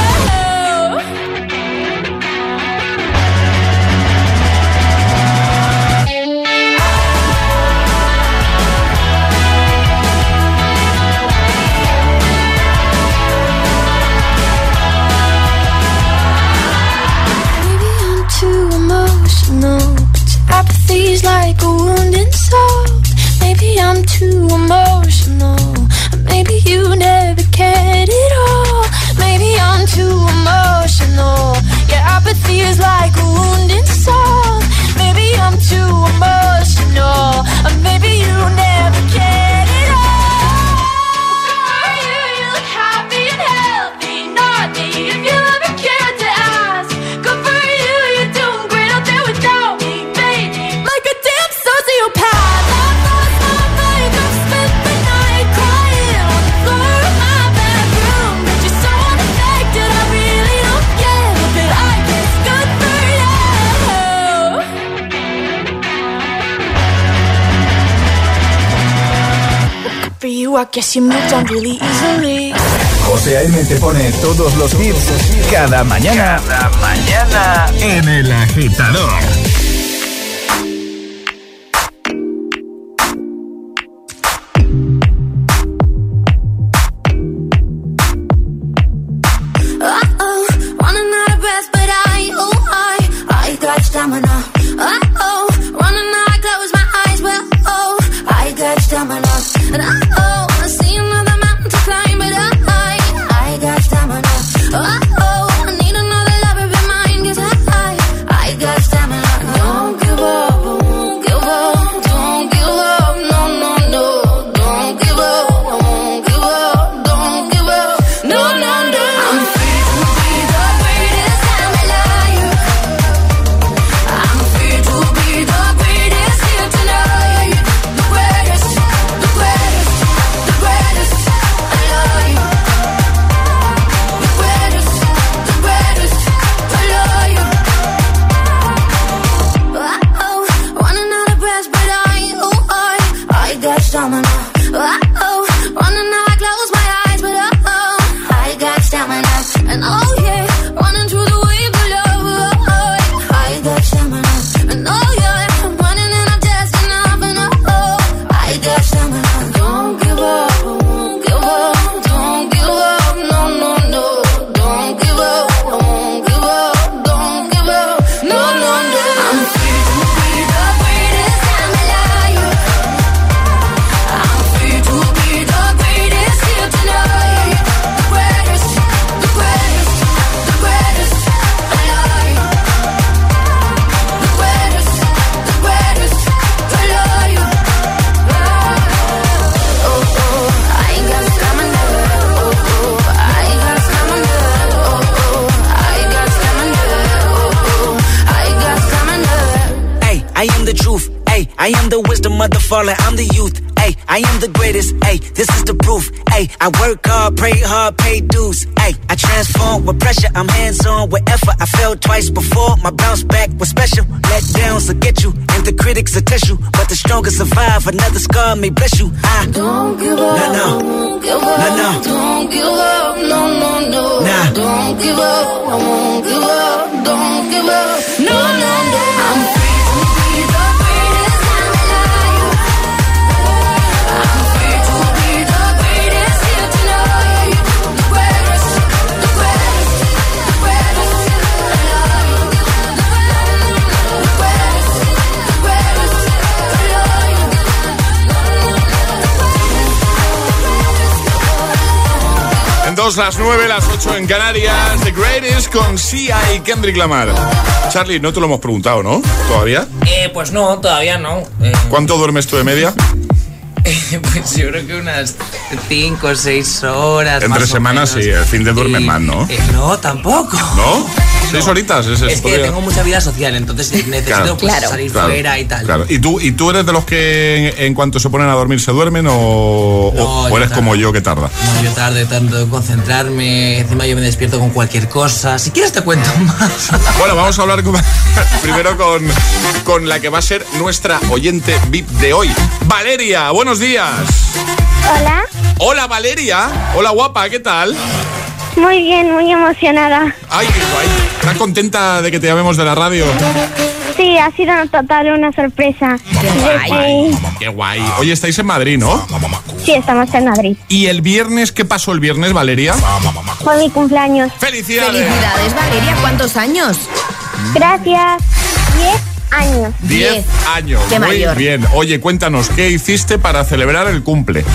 Apathy's like a wounded soul. Maybe I'm too emotional. Maybe you never cared at all. Maybe I'm too emotional. Yeah, apathy is like a wounded soul. Maybe I'm too emotional. Or maybe you never cared at all. For you, you look happy and healthy. Not me, if you ever cared to ask. Good for you, you're doing great out there without me. Like a damn sociopath. That lost my mind. I've spent the night crying on the floor of my bedroom. But you're so unaffected, I really don't get it. But I guess good for you. Good for you, I guess you moved on really easily. José A.M. te pone todos los hits cada mañana. Cada mañana en El Agitador. Stamina. Uh-oh, running out, I close my eyes. Well, oh, I got stamina. And uh-oh, I see another mountain to climb. But I, I got stamina. Uh-oh, I need another lover be mine. 'Cause I, I got stamina. I am the wisdom of the fallen, I'm the youth. Ay, I am the greatest, ay, this is the proof. Ay, I work hard, pray hard, pay dues. Ay, I transform with pressure, I'm hands-on with effort. I fell twice before, my bounce back was special. Let downs will get you, and the critics will test you. But the strongest survive, another scar may bless you. I don't give up, no, no, don't give up, no, no, don't give up, no, no, no, nah. Don't give up, I won't give up, don't give up, no, no, no. I'm free to be the greatest I'm alive. I'm free to be the greatest here tonight. The greatest, the greatest, the greatest alive. The greatest, the greatest alive. En dos, las nueve, las ocho en Canarias. The Greatest con Sia y Kendrick Lamar. Charlie, no te lo hemos preguntado, ¿no? ¿Todavía? Eh, pues no, todavía no. Eh... ¿Cuánto duermes tú de media? Pues yo creo que unas cinco o seis horas. Entre semanas sí, el fin de duermes más, ¿no? Eh, no, tampoco. ¿No? ¿Seis horitas? Es, es que tengo mucha vida social, entonces necesito claro, pues, claro, salir claro, fuera y tal. Claro. ¿Y tú, ¿Y tú eres de los que en, en cuanto se ponen a dormir se duermen o, no, o, o eres tardo. Como yo que tarda? No, yo tarde tanto en concentrarme, encima yo me despierto con cualquier cosa. Si quieres te cuento más. Bueno, vamos a hablar con, primero con, con la que va a ser nuestra oyente V I P de hoy. Valeria, buenos días. Hola. Hola Valeria. Hola guapa, ¿qué tal? Muy bien, muy emocionada. Ay, qué guay. ¿Estás contenta de que te llamemos de la radio? Sí, ha sido total una sorpresa. Qué guay. Qué guay. Oye, estáis en Madrid, ¿no? Sí, estamos en Madrid. ¿Y el viernes qué pasó el viernes, Valeria? Fue mi cumpleaños. ¡Felicidades! ¡Felicidades, Valeria! ¿Cuántos años? Gracias. Diez años. Diez años. Qué Muy mayor. bien. Oye, cuéntanos, ¿qué hiciste para celebrar el cumple?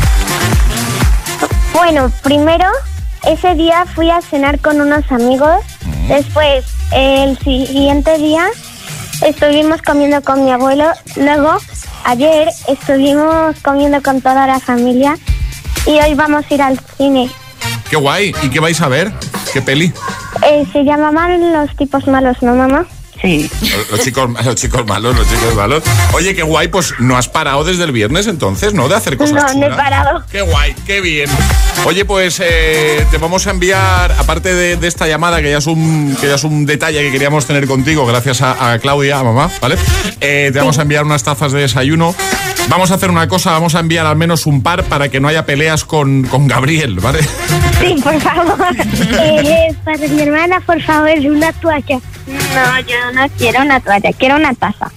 Bueno, primero, ese día fui a cenar con unos amigos. Mm. Después, el siguiente día, estuvimos comiendo con mi abuelo. Luego, ayer, estuvimos comiendo con toda la familia. Y hoy vamos a ir al cine. ¡Qué guay! ¿Y qué vais a ver? ¿Qué peli? Eh, se llamaban Los tipos malos, ¿no, mamá? Sí. Los, los chicos los chicos malos, los chicos malos. Oye, qué guay, pues no has parado desde el viernes entonces, ¿no? De hacer cosas No, chulas. no he parado. Qué guay, qué bien. Oye, pues eh, te vamos a enviar, aparte de, de esta llamada, que ya es un que ya es un detalle que queríamos tener contigo, gracias a, a Claudia, a mamá, ¿vale? Eh, te vamos a enviar unas tazas de desayuno. Vamos a hacer una cosa, vamos a enviar al menos un par para que no haya peleas con, con Gabriel, ¿vale? Sí, por favor. eh, para mi hermana, por favor, una toalla. No, yo no quiero una toalla, quiero una taza.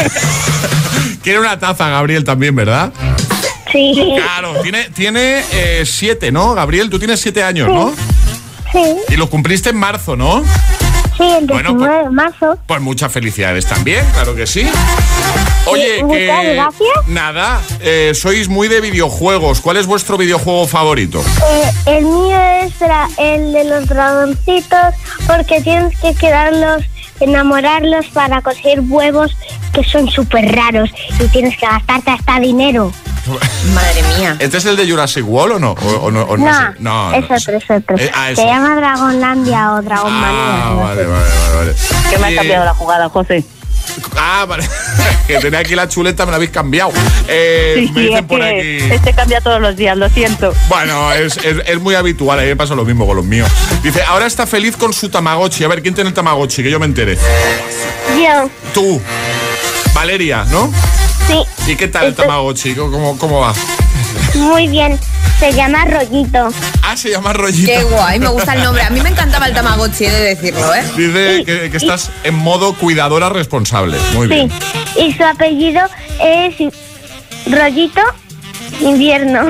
Quiere una taza, Gabriel, también, ¿verdad? Sí. Claro, tiene, tiene eh, siete, ¿no? Gabriel, tú tienes siete años, sí. ¿no? Sí. Y lo cumpliste en marzo, ¿no? Sí, el diecinueve bueno, pues, de marzo. Pues muchas felicidades también, claro que sí. Oye, sí, que... Muchas gracias. Nada, eh, sois muy de videojuegos. ¿Cuál es vuestro videojuego favorito? Eh, el mío es la, el de los dragoncitos, porque tienes que quedarlos, enamorarlos para conseguir huevos que son súper raros y tienes que gastarte hasta dinero. Madre mía. ¿Este es el de Jurassic World o no? ¿O, o no, o no, no, sé? no, es no, otro, es otro. Eh, ah, Se llama Dragonlandia o Dragonmanía. Ah, no vale, sé. vale, vale, vale. Que me ha cambiado la jugada, José. Ah, vale. Que tenía aquí la chuleta, me la habéis cambiado. Eh, Sí, me sí, dicen es por que aquí. este cambia todos los días, lo siento. Bueno, es, es, es muy habitual, a mí me pasa lo mismo con los míos. Dice, ahora está feliz con su Tamagotchi. A ver, ¿quién tiene el Tamagotchi? Que yo me entere. Yo. Tú. Valeria, ¿no? Sí. ¿Y qué tal el Tamagotchi? ¿Cómo, cómo va? Muy bien. Se llama Rollito. Ah, se llama Rollito. Qué guay, me gusta el nombre. A mí me encantaba el Tamagotchi, he de decirlo, ¿eh? Dice Sí, que, que estás en modo cuidadora responsable. Muy bien. Sí. Y su apellido es Rollito Invierno.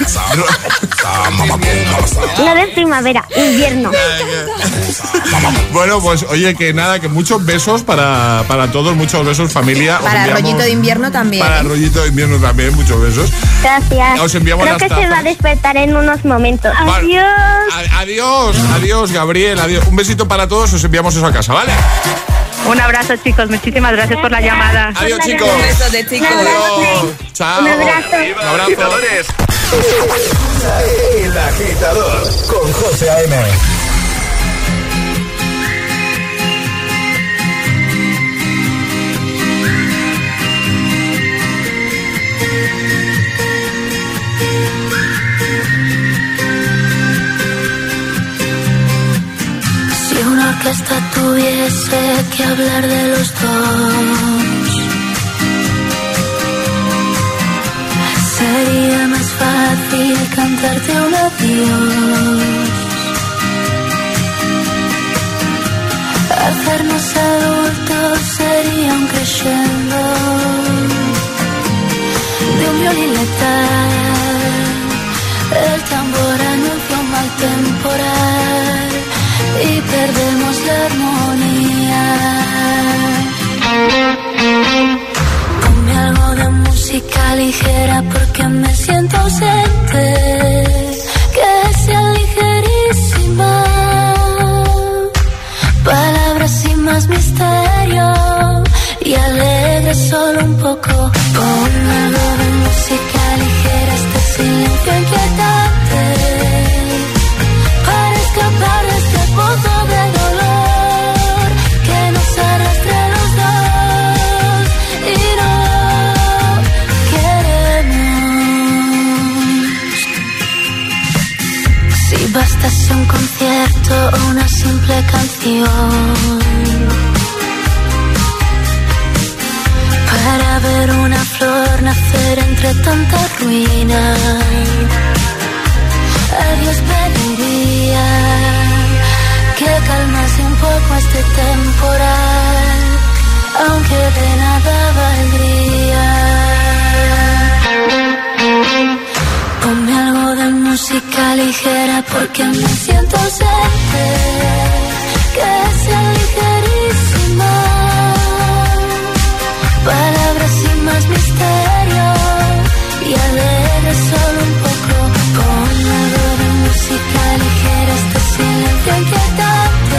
No de primavera, invierno. Bueno, pues oye, que nada, que muchos besos para, para todos, muchos besos familia. Os Para enviamos- rollito de invierno también. Para ¿eh? rollito de invierno también, muchos besos. Gracias. Os enviamos Creo las que se tazas. va a despertar en unos momentos. Vale. Adiós. A- adiós, adiós, Gabriel, adiós. Un besito para todos, os enviamos eso a casa, ¿vale? Un abrazo, chicos. Muchísimas gracias por la llamada. Adiós, chicos. Un beso de chicos. Adiós. Chao. Un abrazo. Un abrazo. El Agitador con José A M. que esta tuviese que hablar de los dos, sería más fácil cantarte un adiós. Hacernos adultos sería un crescendo de un violín letal. El tambor anuncia un mal temporal y perdemos la armonía. Ponme algo de música ligera porque me siento ausente, que sea ligerísima, palabras sin más misterio y alegre solo un poco. Ponme algo de música ligera, este silencio inquietante, para escapar de este pozo de dolor que nos arrastra a los dos y no queremos. Si bastase un concierto o una simple canción para ver una flor nacer entre tanta ruina, a Dios pediría que calmase un poco este temporal, aunque de nada valdría. Ponme algo de música ligera porque me siento ausente, que sea ligerísima, palabras sin más misterio y alegre solo un poco. Ponme algo de música ligera, este silencio inquietante,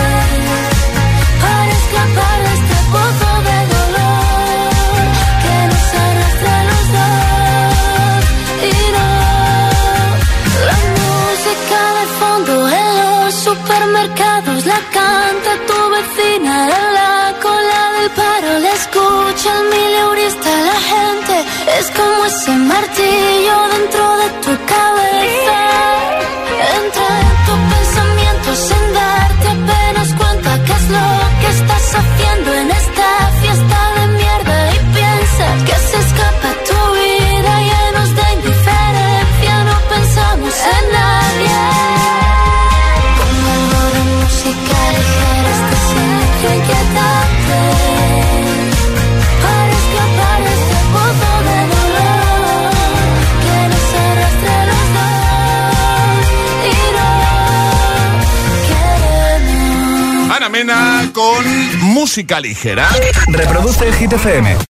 para escapar de este pozo de dolor que nos arrastra a los dos y no. La música de fondo en los supermercados la canta tu vecina en la cola del paro, la escucha el mileurista, la gente es como ese martillo dentro de tu cabeza. Entra en tu pensamiento sin darte apenas cuenta qué es lo que estás haciendo en esta fiesta de mierda y piensa que se escapa tu vida llenos de indiferencia, no pensamos en nadie. Como algo de música ligera, este silencio inquietante, para escapar de este pozo de dolor que nos arrastra a los dos y no queremos. Ana Mena con música ligera. Reproduce Hit F M.